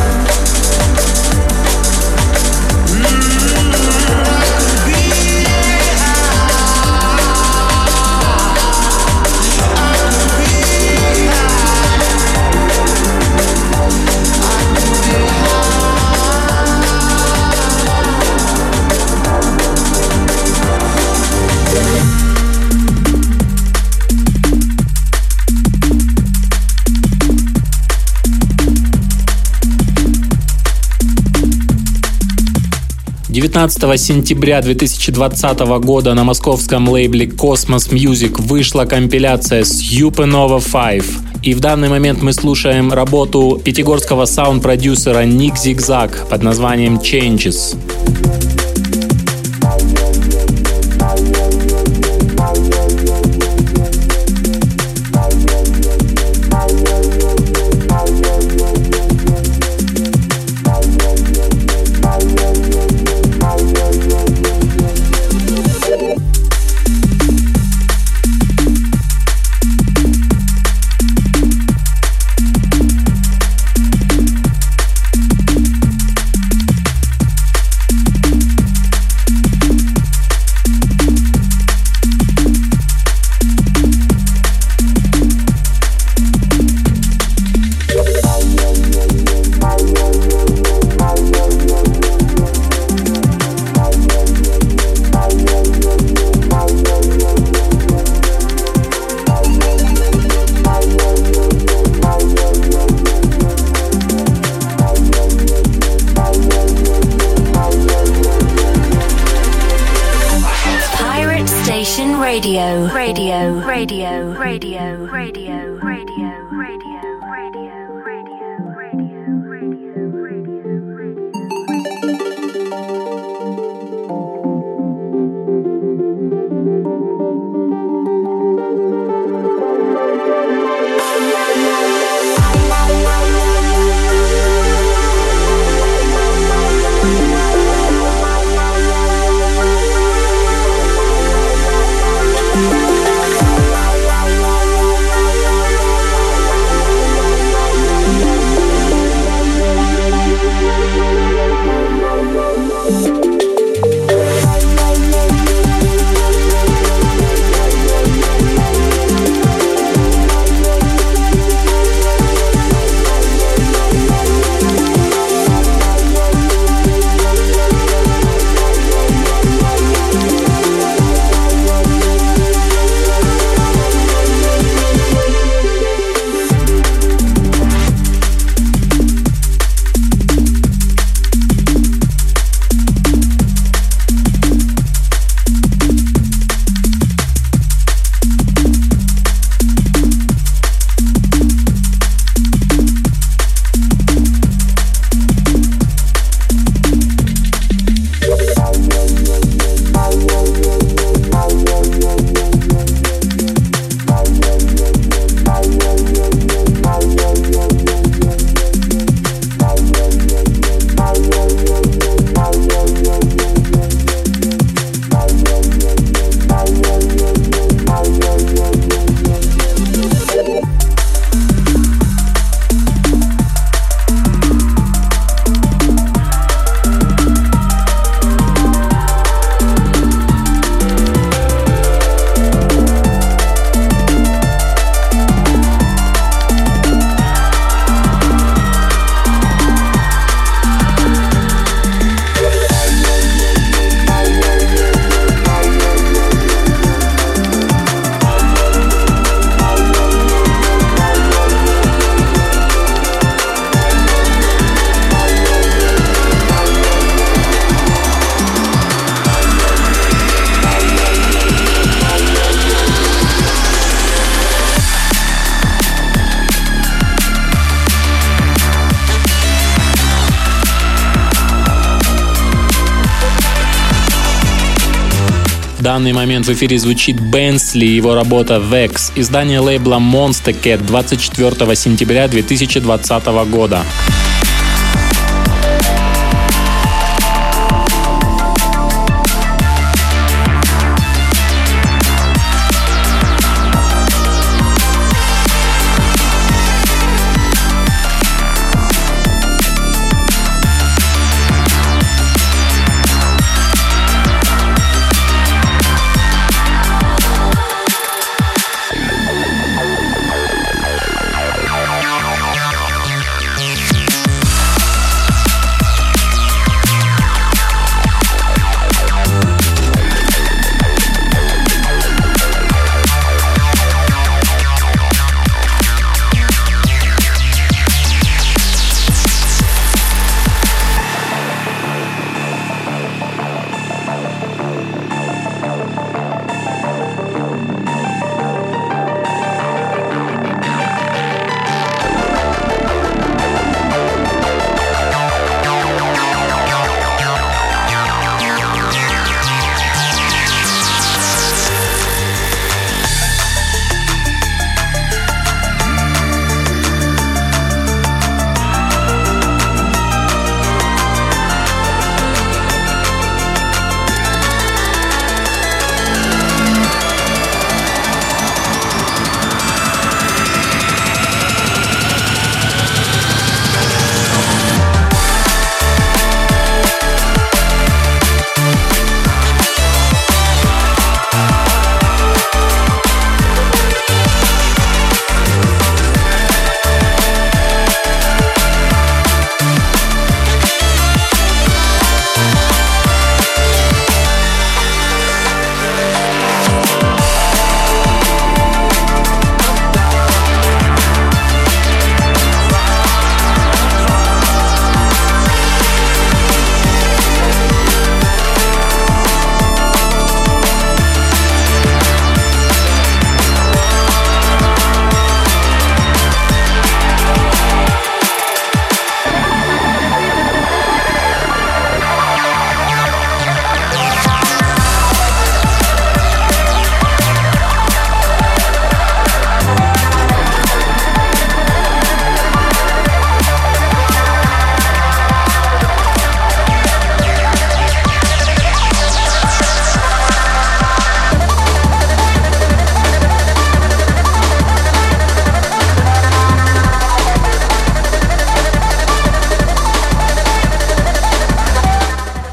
«19 сентября 2020 года на московском лейбле Cosmos Music вышла компиляция Supernova 5. И в данный момент мы слушаем работу пятигорского саунд-продюсера Ник Зигзаг под названием Changes. В данный момент в эфире звучит Бенсли и его работа Vex, издание лейбла Monster Cat 24 сентября 2020 года.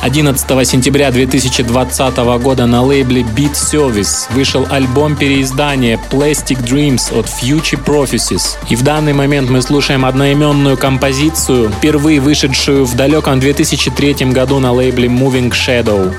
11 сентября 2020 года на лейбле Beat Service вышел альбом переиздания Plastic Dreams от Future Prophecies. И в данный момент мы слушаем одноименную композицию, впервые вышедшую в далеком 2003 году на лейбле Moving Shadow.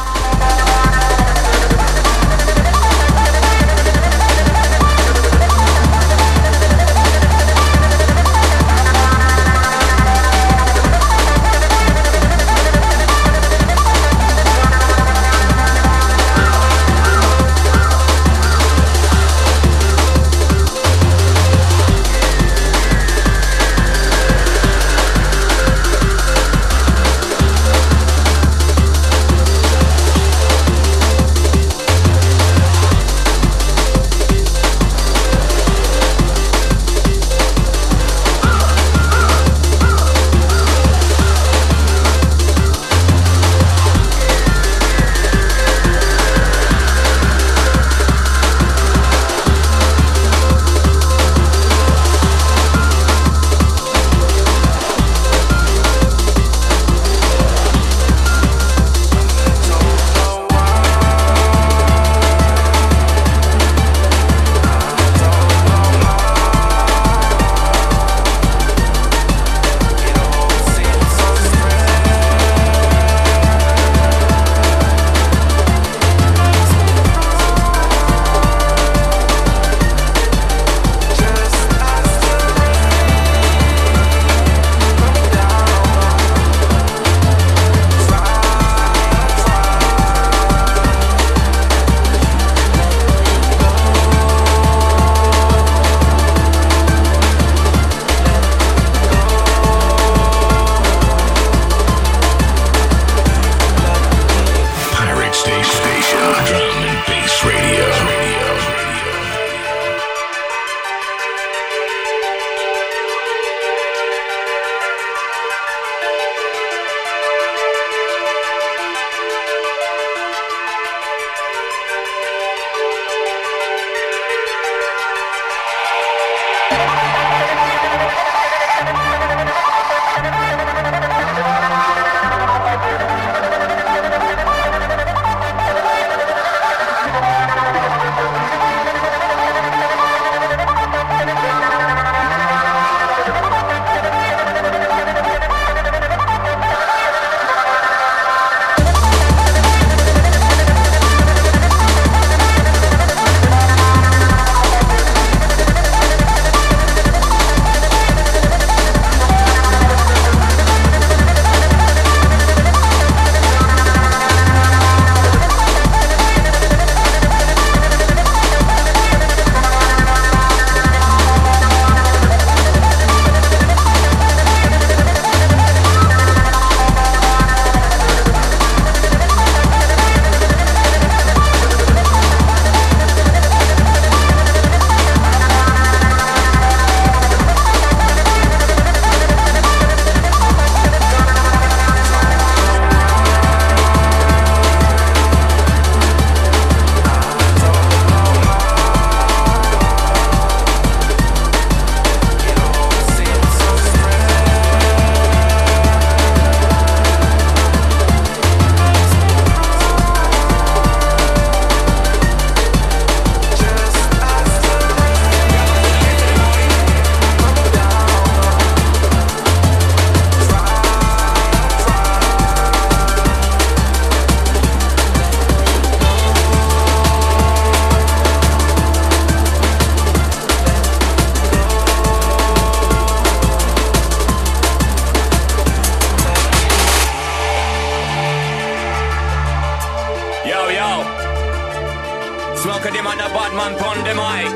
Smoke them on a bad man pon them high.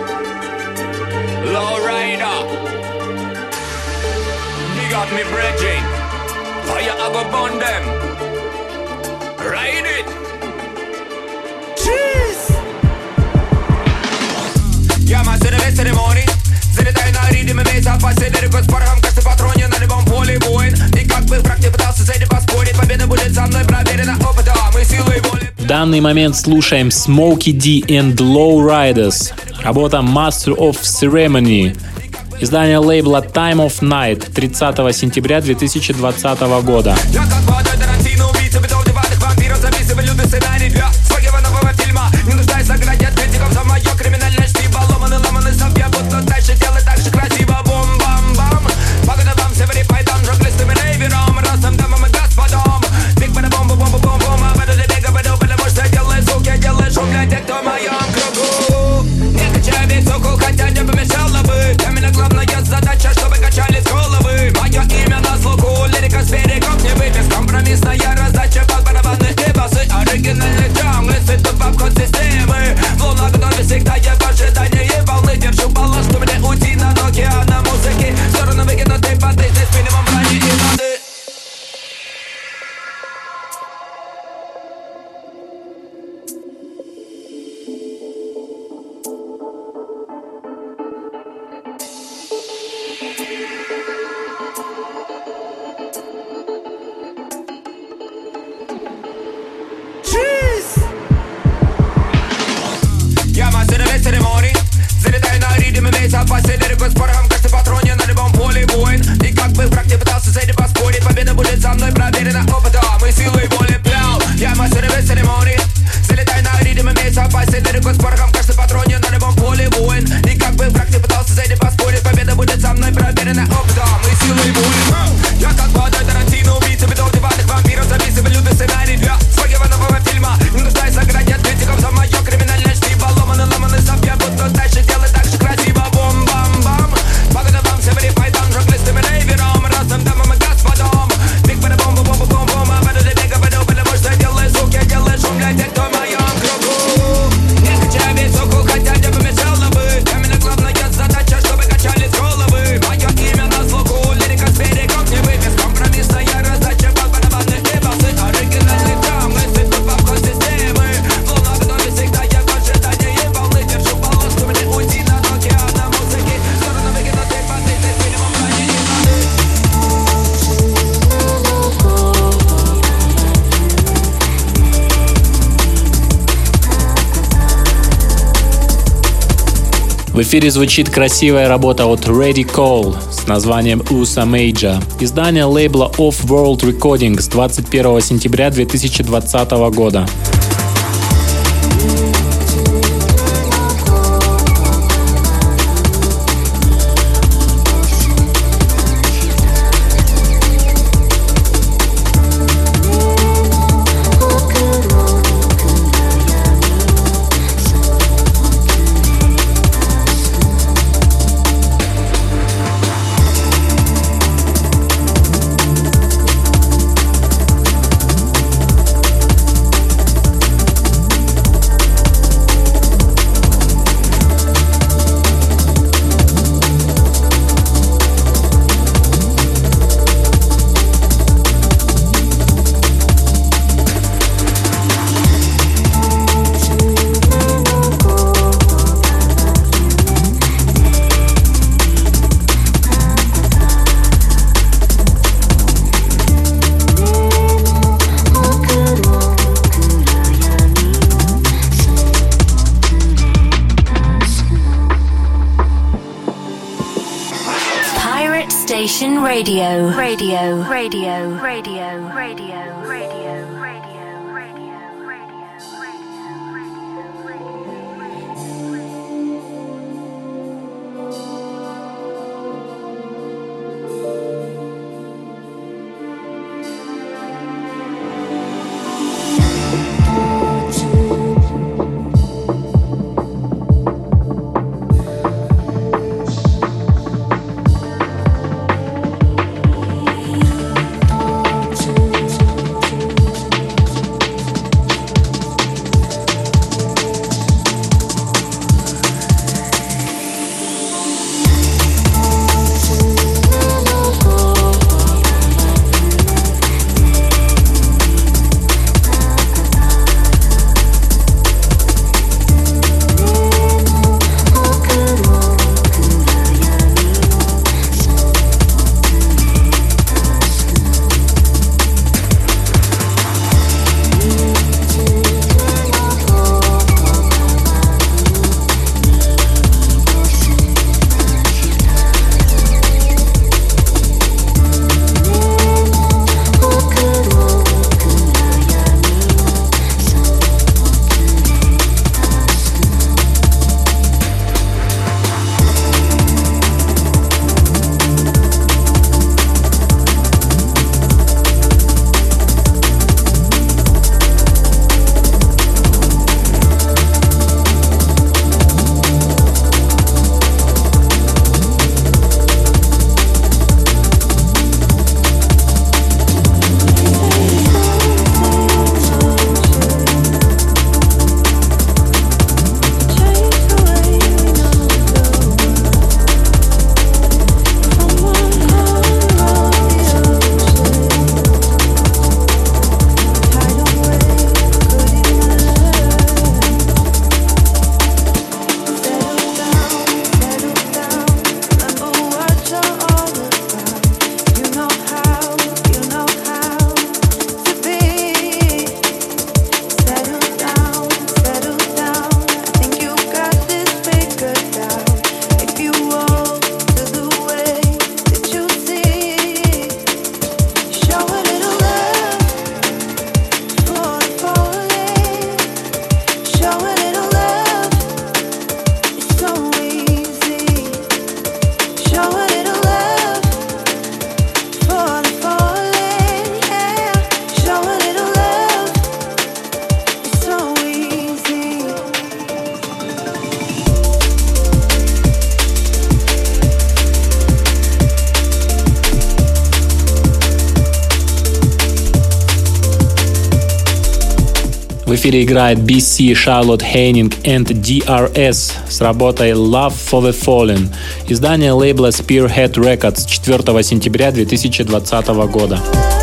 Low rider. Big up me brethren. Fire I go burn them. Ride it. Cheese. Я мастер весь церемоний. Залетай на ритме весь опасен. Далеко с порохом, как ты патроне на любом поле воин. И как бы враг не пытался с этим поспорить, победа будет со мной проверена опытом и силой воли. В данный момент слушаем Smokey D and Low Riders, работа Master of Ceremony, издание лейбла Time of Night 30 сентября 2020 года. Я как водой Тарантино, убийца, бетон. месяц поселили с порохом, каждый патроне на любом поле воин. И как бы враг не пытался с этим поспорить, победа будет со мной проверена опытом и силой воли плял. Я мастер без церемоний, залетай на ритм и месяц поселили с порохом, каждый патроне на любом поле воин. И как бы враг не пытался с этим поспорить, победа будет со мной проверена опытом и силой воли. Я как вода Тарантино, убийца бедов, диванных вампиров, записываю лютый сценарий для своего нового фильма. Не нуждаюсь в ограде от критиков за мое криминальное чтиво. Ломаны совья, будто дальше делай так же красиво. Бом-бам-бам, погода вам всем репайтом, жонглистым и рейвером, разным дамам и господам. Биг-бада-бом-бом-бом-бом-бом, а бэду для бега, бэду, потому что делай звук, я делаю шум для тех, кто в моем кругу. Не качай весь уху, хотя не помешало бы. Для меня главная задача, чтобы качались головы. Мое имя на слуху, лирика с берегов не выпис. Компромиссная раздача, барабанных и басы. Оригинальный драм, мысли тут в обход системы. Волна готовит всегда, я в ожидании волны. Держу полоску, мне уйти над океаном музыки. В сторону выкинутой воды, ты с минимум ранений воды. В эфире звучит красивая работа от Ready Call с названием USA Major. Издание лейбла Off World Recordings 21 сентября 2020 года. Radio. В эфире играет BC, Charlotte Henning and DRS с работой Love for the Fallen. Издание лейбла Spearhead Records 4 сентября 2020 года.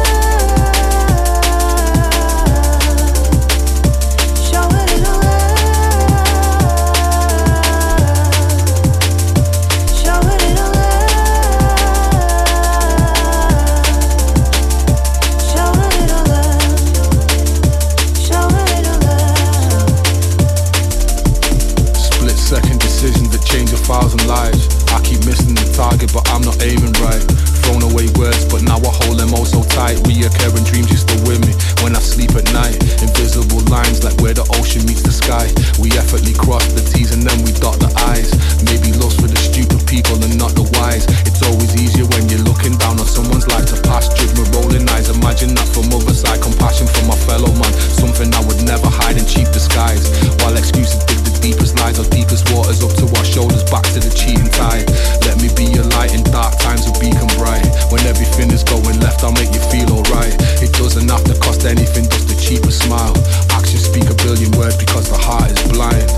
But I'm not aiming right. Thrown away words, but now I hold them all so tight. Reoccurring dreams just still with me when I sleep at night. Invisible lines like where the ocean meets the sky. We effortlessly cross the T's and then we dot the I's. Maybe lost for the stupid people and not the wise. It's always easier when you're looking down on someone's life to pass. Judgment rolling eyes. Imagine that from other side. Compassion for my fellow man. Something I would never hide in cheap disguise. While excuses dig the deepest lies or deepest waters up to our shoulders, back to the cheating tide. Let me be your light in dark times, a beacon bright. When everything is going left, I'll make you feel alright. It doesn't have to cost anything, just the cheapest smile. Actions speak a billion words because the heart is blind.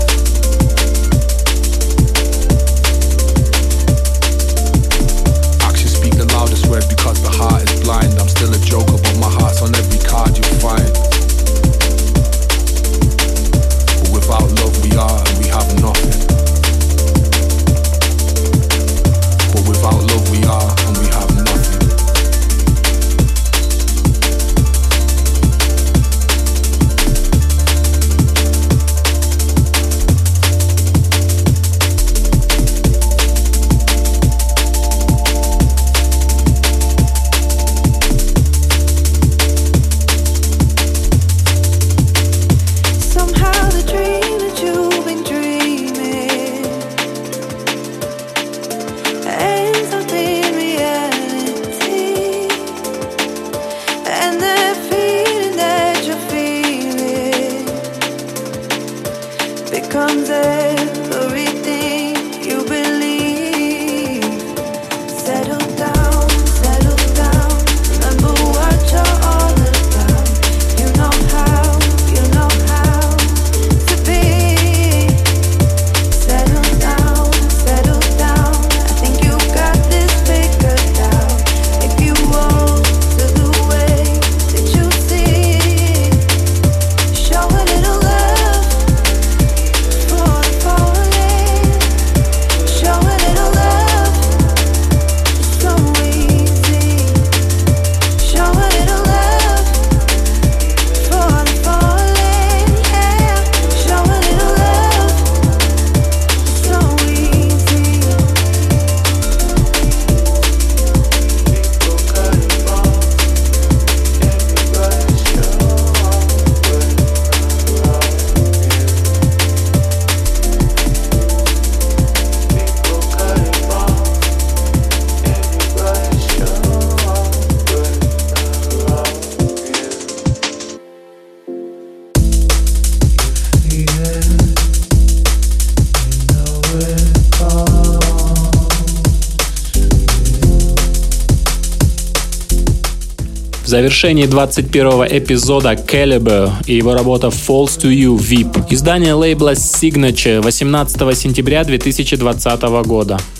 Actions speak the loudest word because the heart is blind. I'm still a joker, but my heart's on every card you find. But without love we are and we have nothing. But without love we are and we have nothing. В завершении 21-го эпизода Calibre и его работа Falls to You VIP. Издание лейбла Signature 18 сентября 2020 года.